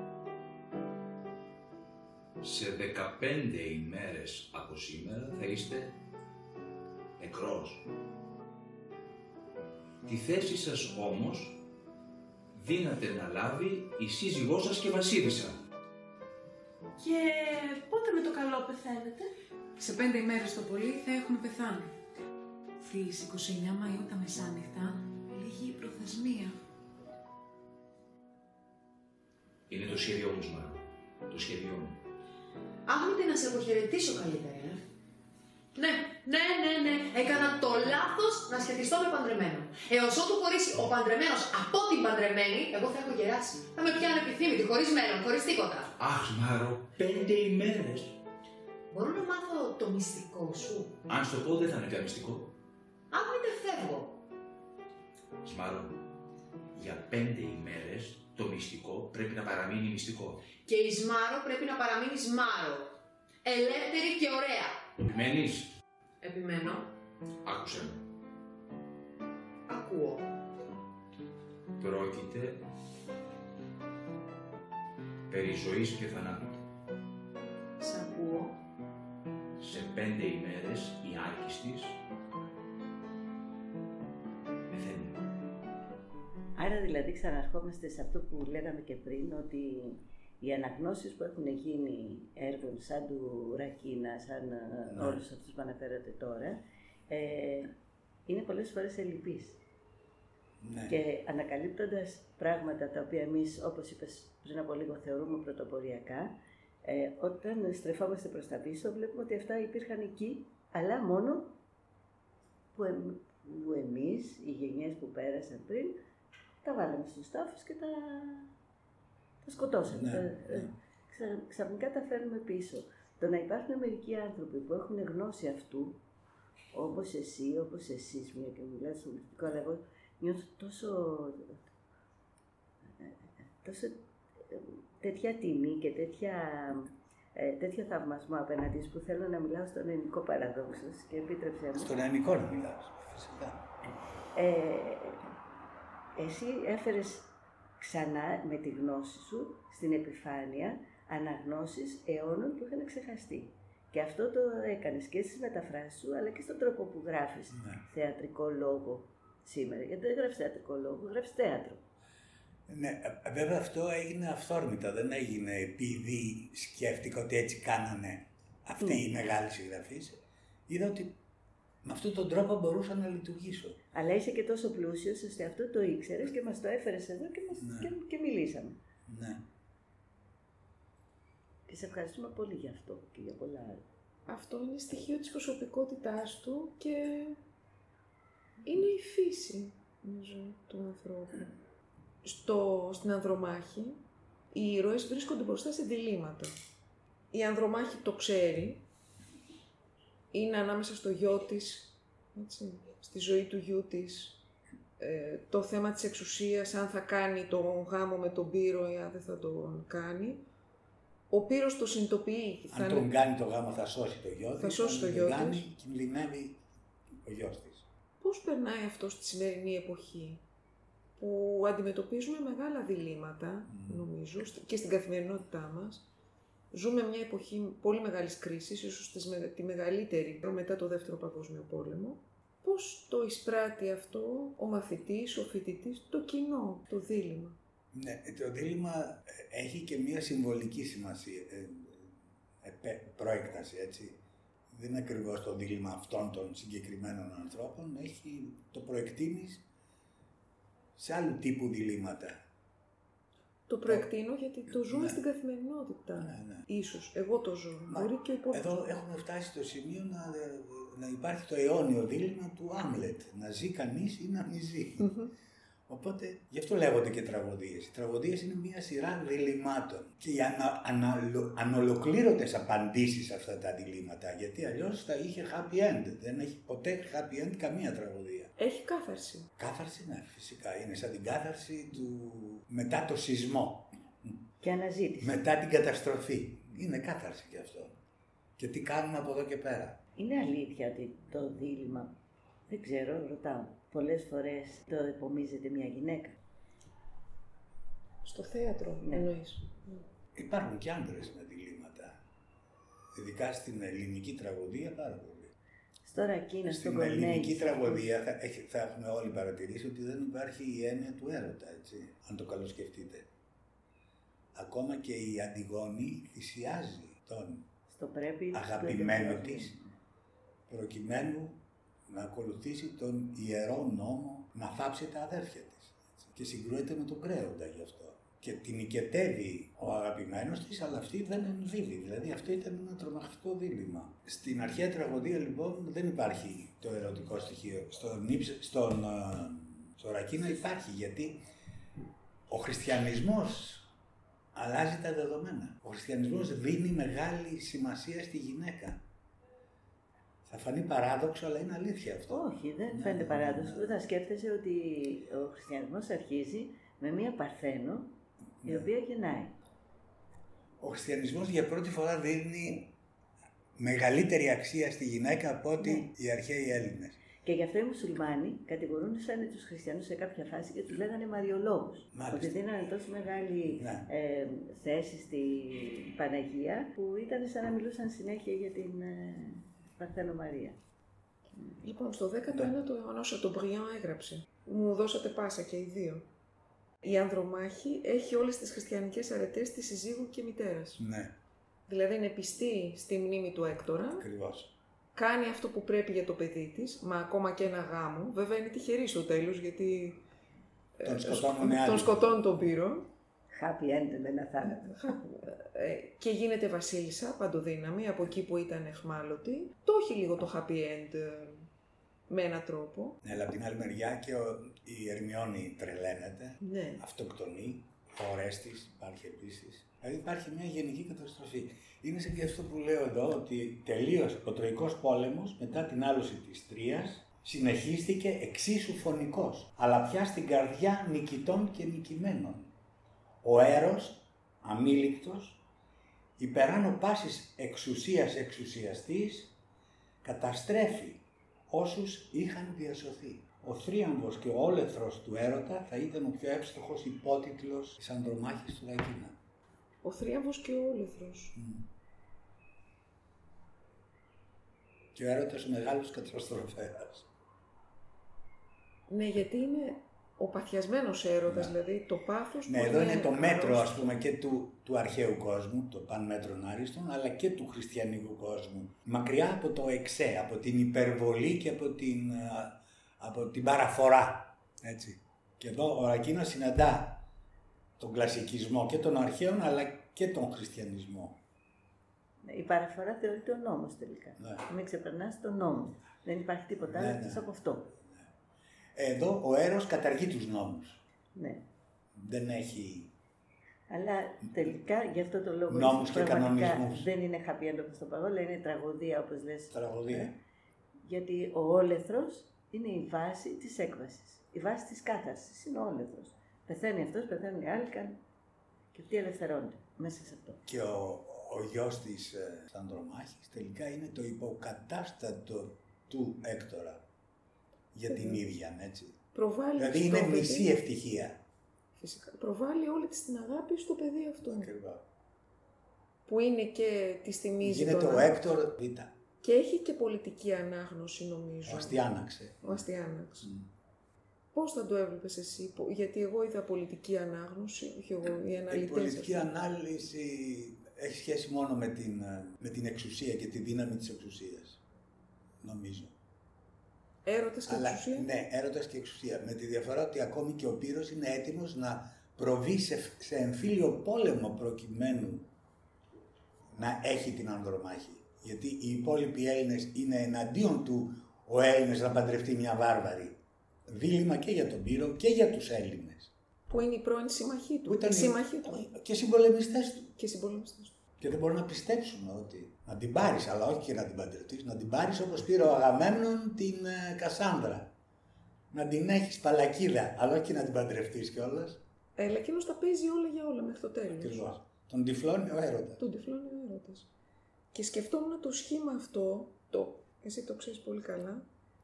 Σε δεκαπέντε ημέρες από σήμερα θα είστε νεκρός. Τη θέση σας όμως δύναται να λάβει η σύζυγός σας και βασίλισσα. Και πότε με το καλό πεθαίνετε? Σε πέντε ημέρες το πολύ θα έχουμε πεθάνει. Στις είκοσι εννέα Μαΐου τα μεσάνυχτα λήγει η προθεσμία. Είναι το σχέδιό μου, Σμάρο. Το σχέδιό μου. Άγνωτε να σε αποχαιρετήσω καλύτερα. ε. Ναι, ναι, ναι, ναι. Έκανα το λάθος να σχετιστώ με παντρεμένο. Έως ότου χωρίσει ο παντρεμένος από την παντρεμένη, εγώ θα έχω γεράσει. Θα με πιάνε επιθύμητη, χωρίς μέλλον, χωρίς τίποτα. Αχ, Σμάρο, πέντε ημέρες. Μπορώ να μάθω το μυστικό σου? Αν στο πω δεν θα είναι πια μυστικό. Αν μην δεν φεύγω. Σμάρο, για πέντε ημέρες το μυστικό πρέπει να παραμείνει μυστικό. Και η Σμάρο πρέπει να παραμείνει Σμάρο. Ελεύθερη και ωραία. Επιμένεις? Επιμένω. Άκουσε με. Ακούω. Πρόκειται περί ζωής και θανάτου. Σ' ακούω. Σε πέντε ημέρες η άρκης της πεθαίνει. Άρα δηλαδή ξαναρχόμαστε σε αυτό που λέγαμε και πριν, ότι οι αναγνώσεις που έχουν γίνει έργων σαν του Ρακίνα, σαν ναι. όλους αυτούς που αναφέρατε τώρα, ε, είναι πολλές φορές ελλειπείς. Ναι. Και ανακαλύπτοντας πράγματα τα οποία εμείς, όπως είπες πριν από λίγο, θεωρούμε πρωτοποριακά, ε, όταν στρεφόμαστε προς τα πίσω βλέπουμε ότι αυτά υπήρχαν εκεί, αλλά μόνο που, εμ, που εμείς, οι γενιές που πέρασαν πριν, τα βάλαμε στους τάφους και τα, τα σκοτώσαμε. Ναι, τα, ναι. Ξα, ξαφνικά τα φέρνουμε πίσω. Το να υπάρχουν μερικοί άνθρωποι που έχουν γνώση αυτού, όπως εσύ, όπως εσείς, μια και μιλάτε στο μυστικό, αλλά εγώ νιώθω τόσο, τόσο τέτοια τιμή και τέτοια, ε, τέτοιο θαυμασμό απέναντι που θέλω να μιλάω στον ελληνικό παραδόξο και επίτρεψε μου. Στον ελληνικό να μιλάω, φυσικά. Ε, εσύ έφερες ξανά με τη γνώση σου στην επιφάνεια αναγνώσεις αιώνων που είχαν ξεχαστεί. Και αυτό το έκανες και στις μεταφράσεις σου, αλλά και στον τρόπο που γράφεις ναι. θεατρικό λόγο σήμερα. Γιατί δεν γράφεις θεατρικό λόγο, γράφεις θέατρο. Ναι, βέβαια αυτό έγινε αυθόρμητα, δεν έγινε επειδή σκέφτηκα ότι έτσι κάνανε αυτοί ναι. οι μεγάλοι συγγραφείς. Είδα ότι με αυτόν τον τρόπο μπορούσα να λειτουργήσω. Αλλά είσαι και τόσο πλούσιος ώστε αυτό το ήξερες και μας το έφερες εδώ και, μας... ναι. και, και μιλήσαμε. Ναι. Και σε ευχαριστούμε πολύ για αυτό και για πολλά άλλα. Αυτό είναι στοιχείο της προσωπικότητάς του και είναι η φύση, νομίζω, του ανθρώπου. Στο, στην Ανδρομάχη, οι ήρωες βρίσκονται μπροστά σε διλήμματα. Η Ανδρομάχη το ξέρει, είναι ανάμεσα στο γιο της, έτσι, στη ζωή του γιού της, ε, το θέμα της εξουσίας, αν θα κάνει τον γάμο με τον Πύρο ή αν δεν θα τον κάνει. Ο Πύρος το συνειδητοποιεί. Αν θα τον είναι... κάνει το γάμο θα σώσει το γιο της, θα σώσει το γιο της. Κινδυνεύει ο γιος της. Πώς περνάει αυτό στη σημερινή εποχή, που αντιμετωπίζουμε μεγάλα διλήμματα, mm. νομίζω, και στην καθημερινότητά μας. Ζούμε μια εποχή πολύ μεγάλης κρίσης, ίσως τη μεγαλύτερη μετά το Δεύτερο Παγκόσμιο Πόλεμο. Πώς το εισπράττει αυτό ο μαθητής, ο φοιτητής, το κοινό, το δίλημμα. Ναι, το δίλημμα έχει και μια συμβολική σημασία, ε, ε, προέκταση, έτσι. Δεν είναι ακριβώς το δίλημμα αυτών των συγκεκριμένων ανθρώπων, έχει το προεκτείνεις σε άλλου τύπου διλήμματα. Το προεκτείνω γιατί το ζούμε ναι. στην καθημερινότητα. Ναι, ναι. Ίσως. Εγώ το ζω. Μα, μπορεί και ο υπόλοιπος. Εδώ έχουμε φτάσει στο σημείο να, να υπάρχει το αιώνιο δίλημμα του Άμλετ. Να ζει κανείς ή να μην ζει. Mm-hmm. Οπότε, γι' αυτό λέγονται και τραγωδίες. Οι τραγωδίες είναι μια σειρά διλημμάτων και οι ανα, ανα, ανολοκλήρωτες απαντήσεις σε αυτά τα διλήμματα, γιατί αλλιώς θα είχε happy end. Δεν έχει ποτέ happy end καμία τραγωδία. Έχει κάθαρση. Κάθαρση, ναι, φυσικά. Είναι σαν την κάθαρση του μετά το σεισμό. Και αναζήτηση. Μετά την καταστροφή. Είναι κάθαρση και αυτό. Και τι κάνουμε από εδώ και πέρα. Είναι αλήθεια ότι το δίλημμα, δεν ξέρω, ρωτάω, πολλές φορές το επομίζεται μια γυναίκα. Στο θέατρο, ναι. εννοείς. Υπάρχουν και άντρες με διλήμματα. Ειδικά στην ελληνική τραγωδία πάρα πολύ. Στο Ρακίνα, στο Στην ελληνική τραγωδία θα, θα έχουμε όλοι παρατηρήσει ότι δεν υπάρχει η έννοια του έρωτα, έτσι, αν το καλοσκεφτείτε. Ακόμα και η Αντιγόνη θυσιάζει τον στο πρέπει, αγαπημένο στο της προκειμένου να ακολουθήσει τον ιερό νόμο να θάψει τα αδέρφια της. Έτσι. Και συγκρούεται με τον Κρέοντα γι' αυτό. Και την οικετεύει ο αγαπημένος της, αλλά αυτή δεν ενδίδει. Δηλαδή αυτό ήταν ένα τρομακτικό δίλημμα. Στην αρχαία τραγωδία λοιπόν δεν υπάρχει το ερωτικό στοιχείο. Στον, στον, στο Ρακίνα υπάρχει, γιατί ο χριστιανισμός αλλάζει τα δεδομένα. Ο χριστιανισμός δίνει μεγάλη σημασία στη γυναίκα. Θα φανεί παράδοξο, αλλά είναι αλήθεια αυτό. Όχι, δεν ναι, φαίνεται ναι, παράδοξο. Ναι, ναι. Θα σκέφτεσαι ότι ο χριστιανισμός αρχίζει με μία Παρθένο, ναι. η οποία γεννάει. Ο χριστιανισμός για πρώτη φορά δίνει μεγαλύτερη αξία στη γυναίκα από ότι ναι. οι αρχαίοι Έλληνες. Και γι' αυτό οι μουσουλμάνοι κατηγορούσαν τους χριστιανούς σε κάποια φάση και τους λέγανε μαριολόγους. Μάλιστα. Ότι δίνανε τόσο μεγάλη ναι. ε, θέση στη Παναγία που ήταν σαν να μιλούσαν συνέχεια για την ε, Παρθένο Μαρία. Λοιπόν, στο δέκατο ένατο αιώνα ο Σατομπριάν έγραψε. Μου δώσατε πάσα και οι δύο. η Ανδρομάχη έχει όλες τις χριστιανικές αρετές της συζύγου και μητέρας. Ναι. Δηλαδή είναι πιστή στη μνήμη του Έκτορα. Ακριβώς. Κάνει αυτό που πρέπει για το παιδί της, μα ακόμα και ένα γάμο. Βέβαια είναι τυχερή στο τέλος, γιατί τον σκοτώνουν άλλοι. Τον σκοτώνουν τον Πύρο. Happy end με ένα θάνατο. Και γίνεται βασίλισσα, παντοδύναμη, από εκεί που ήταν εχμάλωτη. Το έχει λίγο το happy end με έναν τρόπο. Ναι, αλλά από την άλλη μεριά και ο, η Ερμιόνη τρελαίνεται, ναι. αυτοκτονεί, ο Ορέστης υπάρχει επίσης. Δηλαδή υπάρχει μια γενική καταστροφή. Είναι σε και αυτό που λέω εδώ, ότι τελείωσε ο Τροϊκός πόλεμος μετά την άλωση της Τρίας, συνεχίστηκε εξίσου φωνικός, αλλά πια στην καρδιά νικητών και νικημένων. Ο Έρος, αμήλικτος, υπεράνω πάσης εξουσίας εξουσιαστής, καταστρέφει όσους είχαν διασωθεί. Ο θρίαμβος και ο όλεθρος του έρωτα θα ήταν ο πιο εύστοχος υπότιτλος της Ανδρομάχης του Ρακίνα. Ο θρίαμβος και ο όλεθρος. Mm. Και ο έρωτας ο μεγάλος καταστροφέας. Ναι, γιατί είναι ο παθιασμένος έρωτας, ναι. δηλαδή το πάθος ναι, που εδώ είναι, είναι το μέτρο, ας πούμε, και του, του αρχαίου κόσμου, το παν μέτρον άριστον, αλλά και του χριστιανικού κόσμου. Μακριά από το εξέ, από την υπερβολή και από την, από την παραφορά. Έτσι. Και εδώ ο Ρακίνας συναντά τον κλασικισμό και των αρχαίων, αλλά και τον χριστιανισμό. Η παραφορά θεωρείται ο νόμος τελικά. Ναι. Μην ξεπερνάς τον νόμο. Δεν υπάρχει τίποτα άλλο ναι, εκτός ναι. από αυτό. Εδώ ο Έρος καταργεί τους νόμους. Ναι. Δεν έχει... Αλλά τελικά γι' αυτό το λόγο νόμους και κανονισμούς. Δεν είναι happy end όπως το παγόλα, είναι τραγωδία όπως λες. Τραγωδία. Ε, γιατί ο όλεθρος είναι η βάση της έκβασης. Η βάση της κάθαρσης είναι ο όλεθρος. Πεθαίνει αυτός, πεθαίνουν οι άλλοι και αυτοί ελευθερώνται μέσα σε αυτό. Και ο, ο γιος της ε, Ανδρομάχης τελικά είναι το υποκατάστατο του Έκτορα. Για την ίδια, έτσι. Προβάλλει δηλαδή είναι παιδί, μισή ευτυχία. Φυσικά. Προβάλλει όλη της την αγάπη στο παιδί αυτό. Ακριβώς. Που είναι και τη θυμίζει γίνεται τον ο Έκτορ Β. Και έχει και πολιτική ανάγνωση, νομίζω. Ο Αστιάναξε. Ο Αστιάναξ. Mm. Πώς θα το έβλεπες εσύ, γιατί εγώ είδα πολιτική ανάγνωση, όχι εγώ, οι αναλυτές. Η πολιτική ανάλυση έχει σχέση μόνο με την, με την εξουσία και τη δύναμη της εξουσίας, νομίζω. Έρωτας και Αλλά, εξουσία. Ναι, έρωτας και εξουσία. Με τη διαφορά ότι ακόμη και ο Πύρος είναι έτοιμος να προβεί σε, σε εμφύλιο πόλεμο προκειμένου να έχει την Ανδρομάχη. Γιατί οι υπόλοιποι Έλληνες είναι εναντίον του ο Έλληνες να παντρευτεί μια βάρβαρη. Δίλημμα και για τον Πύρο και για τους Έλληνες. Που είναι η πρώην συμμαχή του. Ήταν συμμαχή του. Και συμπολεμιστές του. Και συμπολεμιστές του. Και δεν μπορούν να πιστέψουν ότι να την πάρεις, αλλά όχι και να την παντρευτείς, να την πάρεις όπως πήρε ο Αγαμέμνων την ε, Κασάνδρα. Να την έχεις παλακίδα, αλλά όχι και να την παντρευτείς κιόλας. Αλλά εκείνος τα παίζει όλα για όλα μέχρι το τέλος. Ακριβώς. Τον τυφλώνει ο έρωτας. Τον τυφλώνει ο έρωτας. Και σκεφτόμουν το σχήμα αυτό, το, εσύ το ξέρεις πολύ καλά,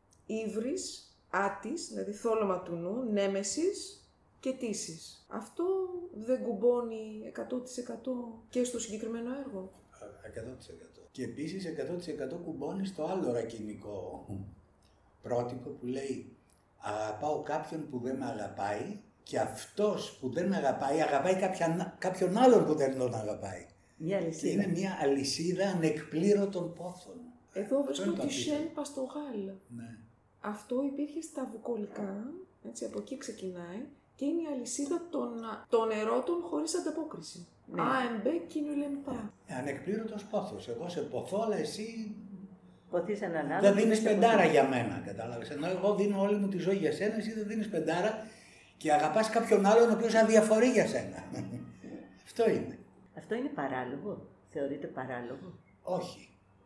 Ύβρις, Άτης, δηλαδή θόλωμα του νου, Νέμεσης και Τύσης. Αυτό δεν κουμπώνει εκατό τοις εκατό και στο συγκεκριμένο έργο. εκατό τοις εκατό. Και επίσης εκατό τοις εκατό κουμπώνει στο άλλο ρακινικό πρότυπο που λέει αγαπάω κάποιον που δεν με αγαπάει και αυτός που δεν με αγαπάει αγαπάει κάποιον, κάποιον άλλον που δεν τον αγαπάει. Μια και είναι μια αλυσίδα ανεκπλήρωτων πόθων. Εδώ βρίσκω τη Σεν Παστογάλ. Ναι. Αυτό υπήρχε στα βουκολικά, έτσι, από εκεί ξεκινάει και είναι η αλυσίδα των, των ερώτων χωρίς ανταπόκριση. Ναι. Α, εμπέ, κοινού λεμπά. Ανεκπλήρωτος πόθος. Εγώ σε ποθώ, αλλά εσύ ποθείς έναν άλλο. Δεν δίνεις πεντάρα για μένα, κατάλαβες. Ενώ εγώ δίνω όλη μου τη ζωή για σένα, εσύ δεν δίνεις πεντάρα και αγαπάς κάποιον άλλον ο οποίος αδιαφορεί για σένα. Αυτό είναι. Αυτό είναι παράλογο. Θεωρείται παράλογο. Όχι.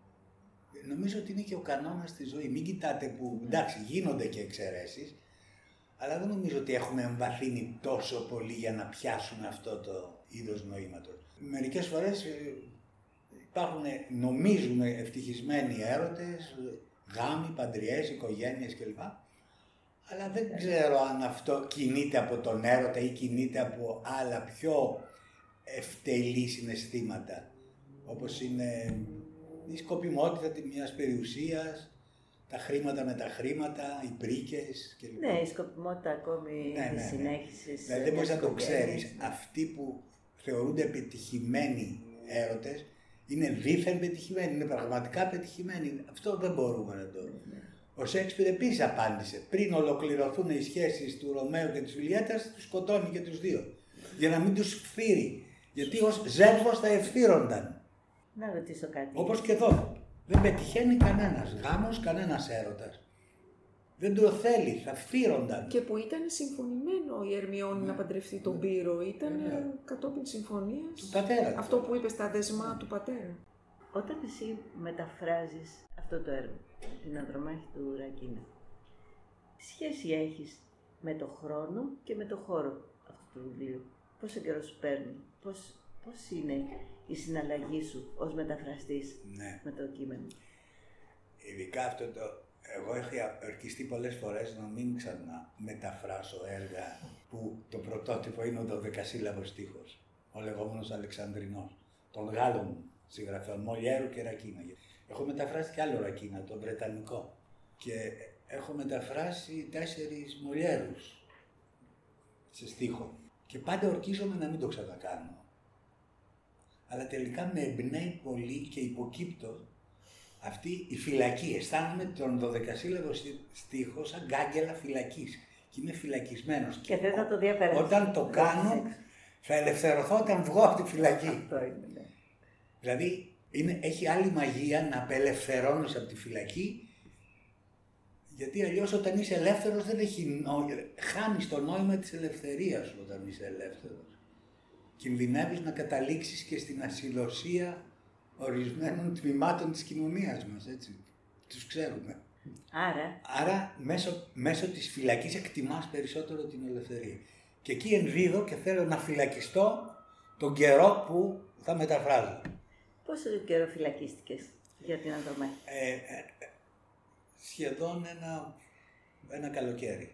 Νομίζω ότι είναι και ο κανόνας στη ζωή. Μην κοιτάτε που, εντάξει, γίνονται και εξαιρέσεις, αλλά δεν νομίζω ότι έχουμε εμβαθύνει τόσο πολύ για να πιάσουμε αυτό το είδος νοήματος. Μερικές φορές υπάρχουν, νομίζουν ευτυχισμένοι έρωτες, γάμοι, παντριές, οικογένειες κλπ. Αλλά δεν ξέρω αν αυτό κινείται από τον έρωτα ή κινείται από άλλα πιο ευτελή συναισθήματα, όπως είναι η σκοπιμότητα μιας περιουσίας, τα χρήματα με τα χρήματα, οι πρίκες κλπ. Ναι, η σκοπιμότητα ακόμη ναι, της ναι, συνέχισης. Δηλαδή δεν μπορείς να το ξέρεις. Αυτοί που θεωρούνται πετυχημένοι έρωτες είναι δίθεν πετυχημένοι, είναι πραγματικά πετυχημένοι. Αυτό δεν μπορούμε να το... Ναι. Ο Σέξπιρ επίσης απάντησε. Πριν ολοκληρωθούν οι σχέσεις του Ρωμαίου και της Ιουλιέτας, τους σκοτώνει και τους δύο. Για να μην τους φθείρει. Γιατί ως Ζεύγος θα ευθύρονταν. Να ρωτήσω κάτι. Όπως και εδώ. Δεν πετυχαίνει κανένας γάμος, κανένας έρωτας. Δεν το θέλει, θα φθείρονταν. Και που ήταν συμφωνημένο η Ερμιόνη ναι. να παντρευτεί τον Πύρο. Ήταν ναι. κατόπιν συμφωνίας. Του πατέρα. Αυτό που είπε στα δεσμά ναι. του πατέρα. Όταν εσύ μεταφράζεις αυτό το έργο, την Ανδρομάχη του Ρακίνα, τι σχέση έχεις με το χρόνο και με το χώρο αυτού του βιβλίου? Πόσο καιρό σου παίρνει, πώς, πώς είναι η συναλλαγή σου ως μεταφραστής ναι. με το κείμενο? Ειδικά αυτό το... Εγώ έχω ορκιστεί πολλές φορές να μην ξαναμεταφράσω έργα που το πρωτότυπο είναι ο δωδεκασύλλαβος στίχος, ο λεγόμενος Αλεξανδρινός, των Γάλλων συγγραφέων, Μολιέρου και Ρακίνα. Έχω μεταφράσει κι άλλο Ρακίνα, τον Βρετανικό. Και έχω μεταφράσει τέσσερις Μολιέρους σε στίχο. Και πάντα ορκίζομαι να μην το ξανακάνω. Αλλά τελικά με εμπνέει πολύ και υποκύπτω αυτή η φυλακή. Αισθάνομαι τον δωδεκασύλλαβο στίχο σαν γκάγγελα φυλακής. Και είμαι φυλακισμένος. Και δεν θα το διαπεράσει. Όταν το κάνω, θα ελευθερωθώ όταν βγω από τη φυλακή. Αυτό είναι, ναι. Δηλαδή, είναι, έχει άλλη μαγεία να απελευθερώνεις από τη φυλακή, γιατί αλλιώς όταν είσαι ελεύθερος δεν έχει νόημα. Χάνεις το νόημα της ελευθερίας σου όταν είσαι ελεύθερος. Κινδυνεύεις να καταλήξεις και στην ασυλωσία ορισμένων τμήματων της κοινωνίας μας, έτσι. Τους ξέρουμε. Άρα, Άρα μέσω, μέσω της φυλακής εκτιμάς περισσότερο την ελευθερία. Και εκεί ενδίδω και θέλω να φυλακιστώ τον καιρό που θα μεταφράζω. Πόσο καιρό φυλακίστηκες για την Ανδρομάχη? Ε, ε, σχεδόν ένα, ένα καλοκαίρι.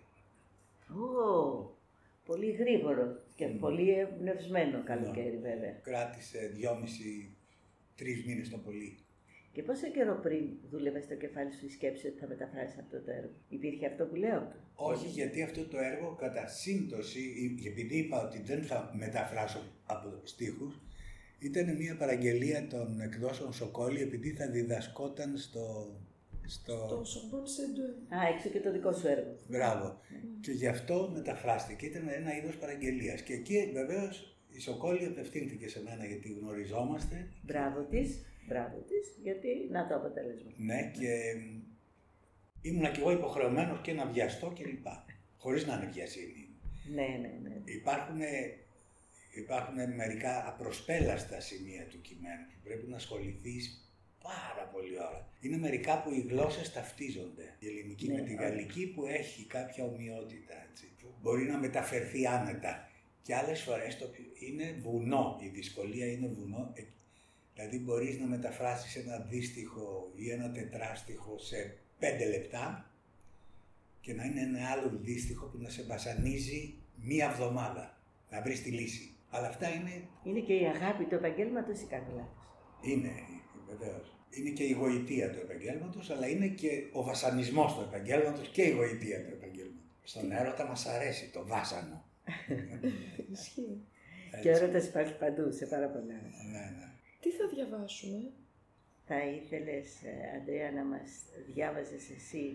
Ω, πολύ γρήγορο και mm. πολύ εμπνευσμένο καλοκαίρι, yeah. βέβαια. Κράτησε δυόμιση, τρεις μήνες το πολύ. Και πόσο καιρό πριν δούλευες στο κεφάλι σου η σκέψη ότι θα μεταφράσεις αυτό το έργο? Υπήρχε αυτό που λέω? Όχι, γιατί αυτό το έργο κατά σύμπτωση, επειδή είπα ότι δεν θα μεταφράσω από στίχους, ήταν μια παραγγελία των εκδόσεων Σοκόλη, επειδή θα διδασκόταν στο... στο... Το Sorbonne Sede. Α, έξω και το δικό σου έργο. Μπράβο. Mm. Και γι' αυτό μεταφράστηκε. Ήταν ένα είδος παραγγελίας. Και εκεί βεβαίως η Σοκόλη απευθύνθηκε σε μένα, γιατί γνωριζόμαστε. Μπράβο της, μπράβο της, γιατί να το αποτέλεσμα. Ναι, και ήμουνα κι εγώ υποχρεωμένος και να βιαστώ κλπ. Χωρίς να είναι βιασύνη. Ναι, ναι, ναι. Υπάρχουν, υπάρχουν μερικά απροσπέλαστα σημεία του κειμένου που πρέπει να ασχοληθείς πάρα πολύ ώρα. Είναι μερικά που οι γλώσσες ταυτίζονται. Η ελληνική ναι, με τη γαλλική που έχει κάποια ομοιότητα, έτσι, που μπορεί να μεταφερθεί άνετα. Και άλλες φορές το είναι βουνό, η δυσκολία είναι βουνό. Δηλαδή μπορείς να μεταφράσεις ένα δύστιχο ή ένα τετράστιχο σε πέντε λεπτά και να είναι ένα άλλο δύστιχο που να σε βασανίζει μία εβδομάδα, να βρεις τη λύση. Αλλά αυτά είναι... Είναι και η αγάπη του επαγγέλματος ή κάνω λάθος? Είναι, βεβαίως. Είναι και η γοητεία του επαγγέλματος, αλλά είναι και ο βασανισμός του επαγγέλματος και η γοητεία του επαγγέλματος. Στον έρωτα μας αρέσει το βάσανο. Ισχύει. Και ο έρωτας υπάρχει παντού, σε πάρα πολλά. Ναι, ναι. Τι θα διαβάσουμε? Θα ήθελες, Αντρέα, να μας διάβαζες εσύ...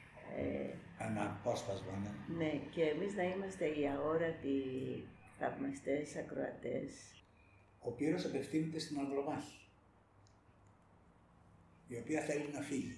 Ε, ένα απόσπασμα, ναι. Ναι, και εμείς να είμαστε οι αόρατοι θαυμαστές, ακροατές. Ο Πύρος απευθύνεται στην Ανδρομάχη, η οποία θέλει να φύγει.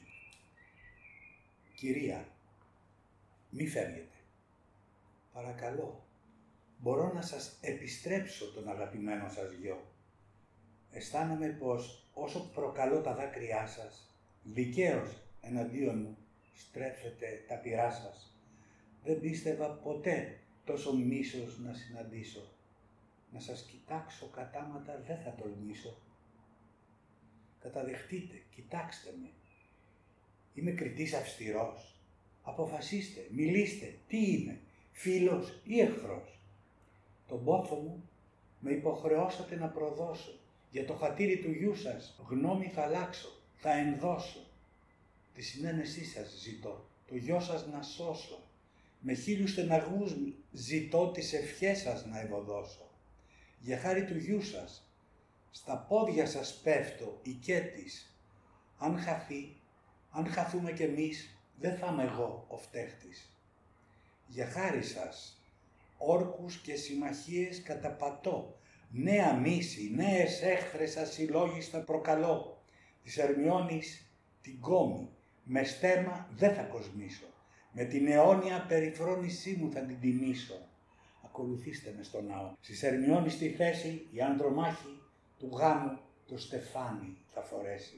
Κυρία, μη φεύγετε. Παρακαλώ, μπορώ να σας επιστρέψω τον αγαπημένο σας γιο. Αισθάνομαι πως όσο προκαλώ τα δάκρυά σας, δικαίως εναντίον μου στρέφετε τα πυρά σας. Δεν πίστευα ποτέ τόσο μίσος να συναντήσω. Να σας κοιτάξω κατάματα δεν θα τολμήσω. Καταδεχτείτε, κοιτάξτε με. Είμαι κριτής αυστηρός. Αποφασίστε, μιλήστε, τι είμαι, φίλος ή εχθρός. Τον πόθο μου με υποχρεώσατε να προδώσω. Για το χατήρι του γιού σας γνώμη θα αλλάξω, θα ενδώσω. τη συνένεσή σας ζητώ, το γιο σας να σώσω. Με χίλιους στεναγμούς ζητώ τις ευχές σας να ευωδώσω. Για χάρη του γιού σας, στα πόδια σας πέφτω οικέτης. Αν χαθεί, αν χαθούμε κι εμείς, δεν θα είμαι εγώ ο φταίχτης. Για χάρη σας, όρκους και συμμαχίες καταπατώ. Νέα μίση, νέες έχθρες ασυλλόγιστα προκαλώ. Της Ερμιώνης την κόμη, με στέμα δεν θα κοσμήσω. Με την αιώνια περιφρόνησή μου θα την τιμήσω. Ακολουθήστε με στο ναό. Στις Ερμιώνης στη θέση η ανδρομάχη του γάμου το στεφάνι θα φορέσει.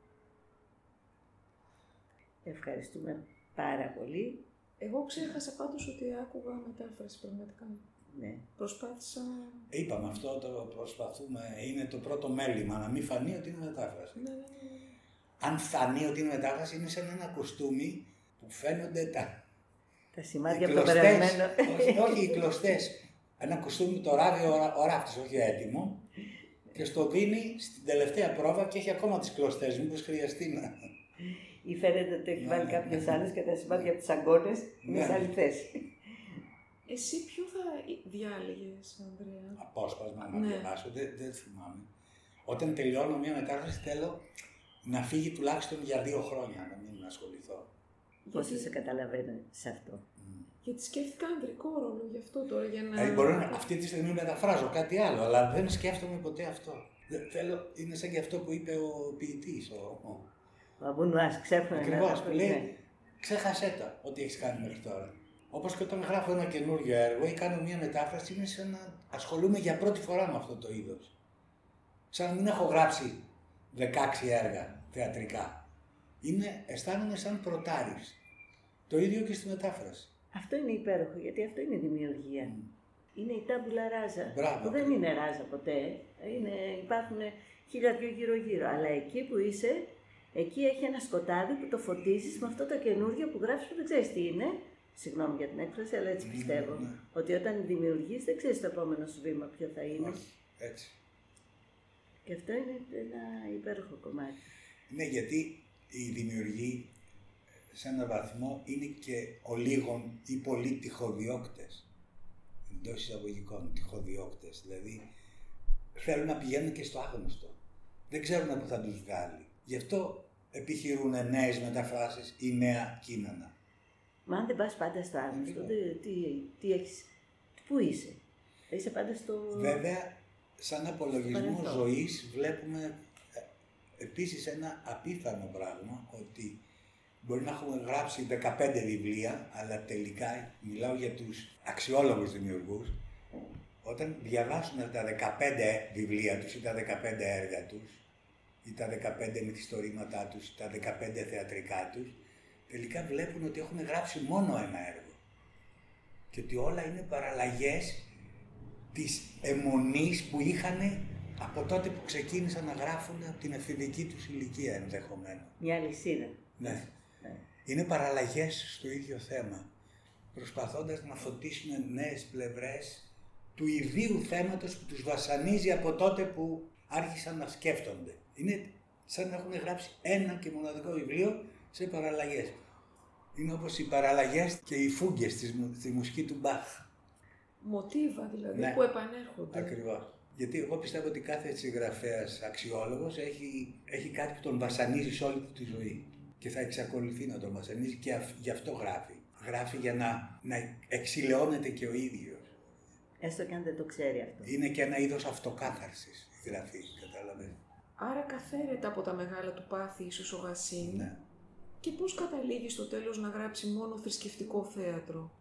Ευχαριστούμε πάρα πολύ. Εγώ ξέχασα πάντως ότι άκουγα μετάφραση πραγματικά. Ναι. Προσπάθησα... Είπαμε αυτό, το προσπαθούμε, είναι το πρώτο μέλημα, να μην φανεί ότι είναι μετάφραση. Ναι, ναι, ναι. Αν φανεί ότι είναι μετάφραση, είναι σαν ένα κοστούμι που φαίνονται τα... Τα σημάδια από το περασμένο. όχι, όχι, οι κλωστές. Ένα κοστούμι το ράβει ο, ο ράφτης, όχι έτοιμο. Και στο δίνει στην τελευταία πρόβα και έχει ακόμα τις κλωστές, μήπως χρειαστεί να... Ή φαίνεται ότι έχει βάλει κάποιες άλλες και τα σημάδια από τις αγκώνες είναι σε άλλη θέση. Εσύ ποιο θα διάλεγες, Ανδρέα? Απόσπασμα να ναι. διαβάσω, δεν, δεν θυμάμαι. Όταν τελειώνω μια μετάφραση θέλω να φύγει τουλάχιστον για δύο χρόνια, να μην ασχοληθώ. Πώς Γιατί... σε καταλαβαίνω σε αυτό? Mm. Γιατί σκέφτηκα ανδρικό ρόλο γι' αυτό τώρα, για να... Ε, μπορεί να, αυτή τη στιγμή μεταφράζω κάτι άλλο, αλλά δεν σκέφτομαι ποτέ αυτό. Δεν, θέλω, είναι σαν και αυτό που είπε ο ποιητής, ο... Ο Αμπουνουάς, ξέφρανε. Ακριβώς, που λέει, ξέχασέ τα, ό,τι έχεις κάνει μέχρι τώρα. Όπως και όταν γράφω ένα καινούριο έργο ή κάνω μια μετάφραση, είναι σαν να ασχολούμαι για πρώτη φορά με αυτό το είδος. Σαν να μην έχω γράψει δεκάξι έργα θεατρικά. Είναι, αισθάνομαι σαν πρωτάρης. Το ίδιο και στη μετάφραση. Αυτό είναι υπέροχο, γιατί αυτό είναι η δημιουργία. Mm. Είναι η τάμπουλα ράζα. Μπράβο. Που δεν είναι ράζα ποτέ. Είναι, υπάρχουν χίλια δυο γύρω-γύρω. Αλλά εκεί που είσαι, εκεί έχει ένα σκοτάδι που το φωτίζεις με αυτό το καινούργιο που γράφεις που δεν ξέρεις τι είναι. Συγγνώμη για την έκφραση, αλλά έτσι πιστεύω. Mm, ναι. Ότι όταν δημιουργείς δεν ξέρεις το επόμενο σου βήμα ποιο θα είναι. Όχι, έτσι. Και αυτό είναι ένα υπέροχο κομμάτι. Ναι, γιατί οι δημιουργοί σε έναν βαθμό είναι και ο λίγων ή πολλοί τυχοδιώκτες. Εντός εισαγωγικών τυχοδιώκτες. Δηλαδή θέλουν να πηγαίνουν και στο άγνωστο. Δεν ξέρουν πού θα τους βγάλει. Γι' αυτό επιχειρούν νέες μεταφράσεις ή νέα κείμενα. Μα αν δεν πας πάντα στο άγνωστο, τι, τι, τι έχεις, πού είσαι? Είσαι πάντα στο... Βέβαια, σαν απολογισμό ζωής βλέπουμε επίσης ένα απίθανο πράγμα, ότι μπορεί να έχουμε γράψει δεκαπέντε βιβλία, αλλά τελικά, μιλάω για τους αξιόλογους δημιουργούς, όταν διαβάσουν τα δεκαπέντε βιβλία τους ή τα δεκαπέντε έργα τους, ή τα δεκαπέντε μυθιστορήματά τους, ή τα δεκαπέντε θεατρικά τους, τελικά βλέπουν ότι έχουν γράψει μόνο ένα έργο. Και ότι όλα είναι παραλλαγές της αιμονής που είχαν από τότε που ξεκίνησαν να γράφουν από την εφηβική τους ηλικία ενδεχομένως. Μια αλυσίδα. Ναι. ναι. Είναι παραλλαγές στο ίδιο θέμα. Προσπαθώντας να φωτίσουν νέες πλευρές του ιδίου θέματος που τους βασανίζει από τότε που άρχισαν να σκέφτονται. Είναι σαν να έχουν γράψει ένα και μοναδικό βιβλίο σε παραλλαγές. Είναι όπως οι παραλλαγές και οι φούγκες στη, στη μουσική του Μπαχ. Μοτίβα δηλαδή, ναι, που επανέρχονται. Ακριβώς. Γιατί εγώ πιστεύω ότι κάθε συγγραφέας αξιόλογος έχει, έχει κάτι που τον βασανίζει σε όλη του τη ζωή. Και θα εξακολουθεί να τον βασανίζει και αυ, γι' αυτό γράφει. Γράφει για να, να εξηλαιώνεται και ο ίδιος. Έστω και αν δεν το ξέρει αυτό. Είναι και ένα είδος αυτοκάθαρσης η γραφή, κατάλαβες. Άρα καθαίρεται από τα μεγάλα του πάθη ίσως ο Γασίνη. Ναι. Και πώς καταλήγει στο τέλος να γράψει μόνο θρησκευτικό θέατρο?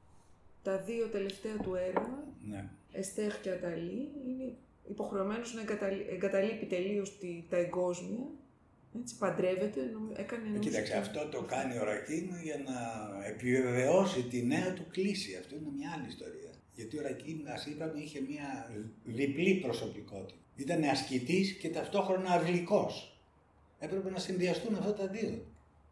Τα δύο τελευταία του έργα, ναι, Εστέρ και Αταλή, είναι υποχρεωμένος να εγκαταλείπει τελείως τη, τα εγκόσμια. Έτσι, παντρεύεται, έκανε ενός... Κοίταξε, αυτό το κάνει ο Ρακίν για να επιβεβαιώσει τη νέα του κλίση. Αυτό είναι μια άλλη ιστορία. Γιατί ο Ρακίν, ας είπαμε, είχε μια διπλή προσωπικότητα. Ήταν ασκητής και ταυτόχρονα αυλικός. Έπρεπε να συνδυαστούν αυτά τα δύο.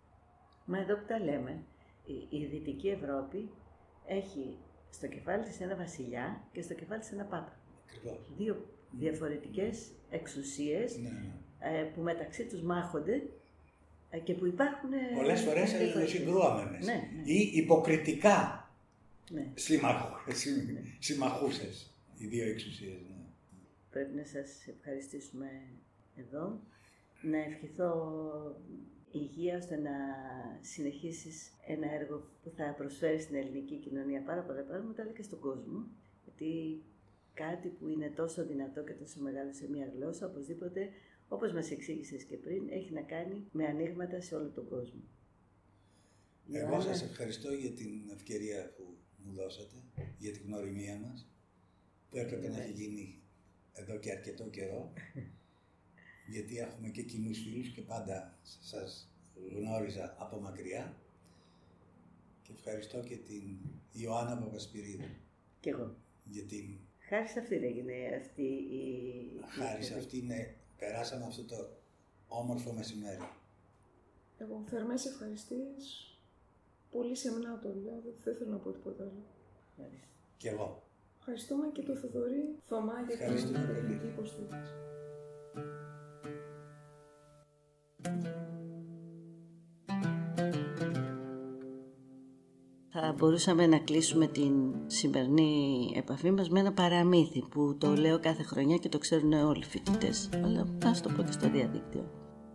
Μα εδώ που τα λέμε, η, η Δυτική Ευρώπη έχει στο κεφάλι της ένα βασιλιά και στο κεφάλι της ένα πάπα. Ακριβώς. Δύο διαφορετικές εξουσίες, ναι, ναι. Ε, που μεταξύ τους μάχονται Και που υπάρχουν... Πολλές φορές αλληλοσυγκρουόμενες. Ναι, ναι. Ή υποκριτικά ναι. συμμαχούσες οι δύο εξουσίες. Ναι. Πρέπει να σας ευχαριστήσουμε εδώ. Να ευχηθώ υγεία ώστε να συνεχίσεις ένα έργο που θα προσφέρει στην ελληνική κοινωνία πάρα πολλά πράγματα, αλλά και στον κόσμο. Γιατί κάτι που είναι τόσο δυνατό και τόσο μεγάλο σε μια γλώσσα, οπωσδήποτε, όπως μας εξήγησες και πριν, έχει να κάνει με ανοίγματα σε όλο τον κόσμο. Εγώ Ιωάννα... σας ευχαριστώ για την ευκαιρία που μου δώσατε, για την γνωριμία μας, που έπρεπε να έχει γίνει εδώ και αρκετό καιρό, γιατί έχουμε και κοινούς φίλους και πάντα σας γνώριζα από μακριά. Και ευχαριστώ και την Ιωάννα Παπασπυρίδου. Κι εγώ. Για την... Χάρη σε αυτήν έγινε αυτή η... Χάρη σε αυτήν, ναι, περάσαμε αυτό το όμορφο μεσημέρι. Εγώ θερμές ευχαριστίες. Πολύ σεμνά το λέω, δεν θέλω να πω τίποτα άλλο. Κι εγώ. Ευχαριστούμε και τον Θοδωρή Θωμά για την τεχνική υποστήριξη. Θα μπορούσαμε να κλείσουμε την σημερινή επαφή μας με ένα παραμύθι που το λέω κάθε χρονιά και το ξέρουν όλοι οι φοιτητές, αλλά ας το πω και στο διαδίκτυο.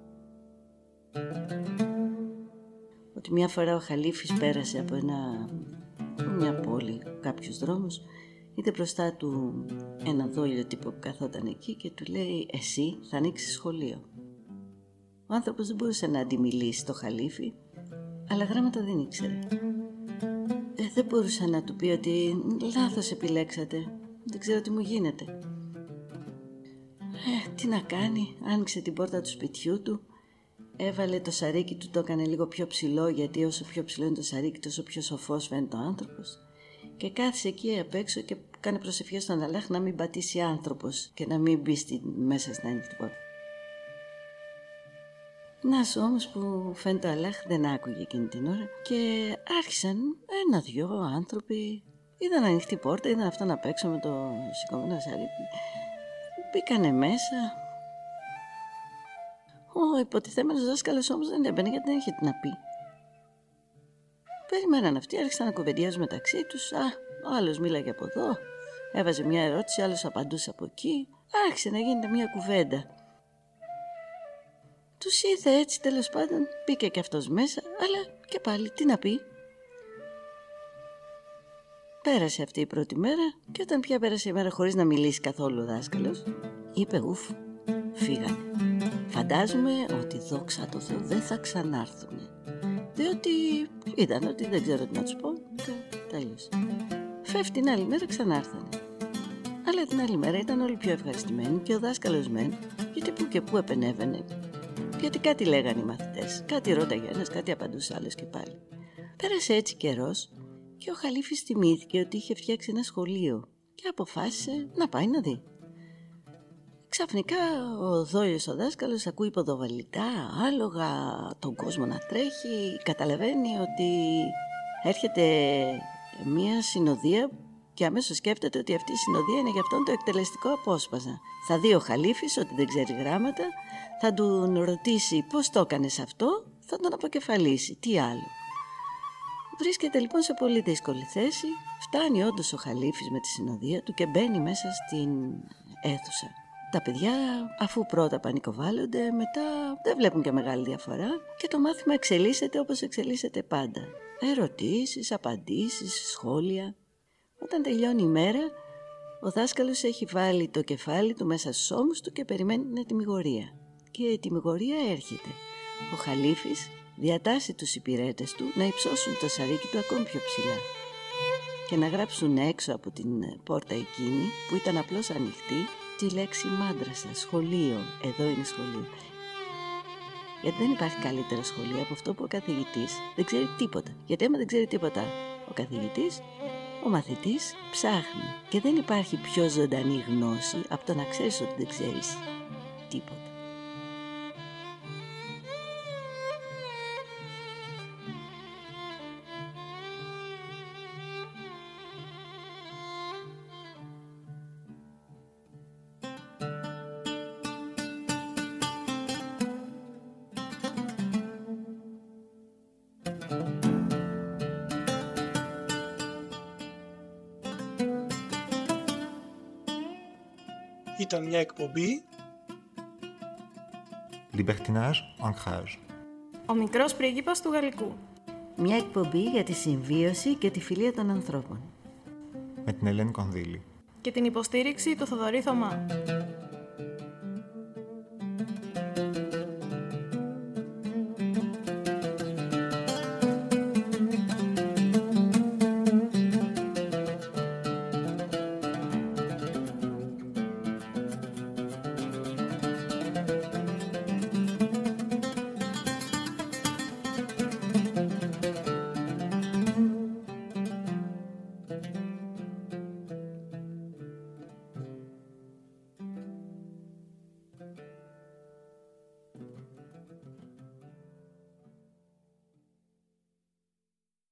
Ότι μια φορά ο Χαλίφης πέρασε από ένα, μια πόλη, κάποιους δρόμους, είδε μπροστά του ένα δόλιο τύπο που καθόταν εκεί και του λέει «Εσύ θα ανοίξεις σχολείο». Ο άνθρωπος δεν μπορούσε να αντιμιλήσει το Χαλίφη, αλλά γράμματα δεν ήξερε. Ε, δεν μπορούσε να του πει ότι λάθος επιλέξατε, δεν ξέρω τι μου γίνεται. Ε, τι να κάνει, άνοιξε την πόρτα του σπιτιού του, έβαλε το σαρίκι του, το έκανε λίγο πιο ψηλό, γιατί όσο πιο ψηλό είναι το σαρίκι τόσο πιο σοφός φαίνεται ο άνθρωπος, και κάθισε εκεί απ' έξω και κάνει προσευχές στον Αλλάχ να μην πατήσει άνθρωπος και να μην μπει στη, μέσα στην ανοιχτή πόρτα. Νας όμως που φαίνεται ο Αλλάχ δεν άκουγε εκείνη την ώρα και άρχισαν ένα-δυο άνθρωποι, είδαν ανοιχτή πόρτα, είδαν αυτόν απ' έξω με το σηκωμένο σαρίκι, μπήκανε μέσα. Ο υποτιθέμενος δάσκαλος όμως δεν έμπαινε γιατί δεν είχε τι να πει. Περιμέναν αυτοί, άρχισαν να κουβεντιάζουν μεταξύ τους. Α, ο άλλος μίλαγε από εδώ, έβαζε μια ερώτηση, άλλος απαντούσε από εκεί. Άρχισε να γίνεται μια κουβέντα. Τους είδε έτσι, τέλος πάντων, μπήκε και αυτός μέσα, αλλά και πάλι τι να πει. Πέρασε αυτή η πρώτη μέρα και όταν πια πέρασε η μέρα χωρίς να μιλήσει καθόλου ο δάσκαλος, είπε ουφ, φύγανε. Φαντάζομαι ότι δόξα τω Θεώ δεν θα ξανάρθουνε, διότι είδαν ότι δεν ξέρω τι να τους πω και τέλειωσε. Φεύγει την άλλη μέρα ξανάρθανε. Αλλά την άλλη μέρα ήταν όλοι πιο ευχαριστημένοι και ο δάσκαλος μεν, γιατί που και που επενέβαινε. Γιατί κάτι λέγανε οι μαθητές, κάτι ρώταγε ένας, κάτι απαντούσε άλλος και πάλι. Πέρασε έτσι καιρός και ο Χαλίφης θυμήθηκε ότι είχε φτιάξει ένα σχολείο και αποφάσισε να πάει να δει. Ξαφνικά ο δόλιος ο δάσκαλος ακούει ποδοβαλικά, άλογα, τον κόσμο να τρέχει, καταλαβαίνει ότι έρχεται μια συνοδεία και αμέσως σκέφτεται ότι αυτή η συνοδεία είναι για αυτόν το εκτελεστικό απόσπασμα. Θα δει ο Χαλίφης ότι δεν ξέρει γράμματα, θα του ρωτήσει πώς το έκανες αυτό, θα τον αποκεφαλίσει, τι άλλο. Βρίσκεται λοιπόν σε πολύ δύσκολη θέση, φτάνει όντως ο Χαλίφης με τη συνοδεία του και μπαίνει μέσα στην αίθουσα. Τα παιδιά, αφού πρώτα πανικοβάλλονται, μετά δεν βλέπουν και μεγάλη διαφορά και το μάθημα εξελίσσεται όπως εξελίσσεται πάντα. Ερωτήσεις, απαντήσεις, σχόλια. Όταν τελειώνει η μέρα, ο δάσκαλος έχει βάλει το κεφάλι του μέσα στους ώμους του και περιμένει την ετυμηγορία. Και η ετυμηγορία έρχεται. Ο Χαλίφης διατάσσει τους υπηρέτες του να υψώσουν το σαρίκι του ακόμη πιο ψηλά και να γράψουν έξω από την πόρτα εκείνη που ήταν απλώς ανοιχτή τη λέξη μάντρασα, σχολείο, εδώ είναι σχολείο. Γιατί δεν υπάρχει καλύτερο σχολείο από αυτό που ο καθηγητής δεν ξέρει τίποτα. Γιατί άμα δεν ξέρει τίποτα ο καθηγητής, ο μαθητής ψάχνει. Και δεν υπάρχει πιο ζωντανή γνώση από το να ξέρεις ότι δεν ξέρεις τίποτα. ήταν μια εκπομπή Libertinage, ancrage. Ο μικρός πρίγκιπας του Γαλλικού. Μια εκπομπή για τη συμβίωση και τη φιλία των ανθρώπων. Με την Ελένη Κονδύλη. Και την υποστήριξη του Θοδωρή Θωμά.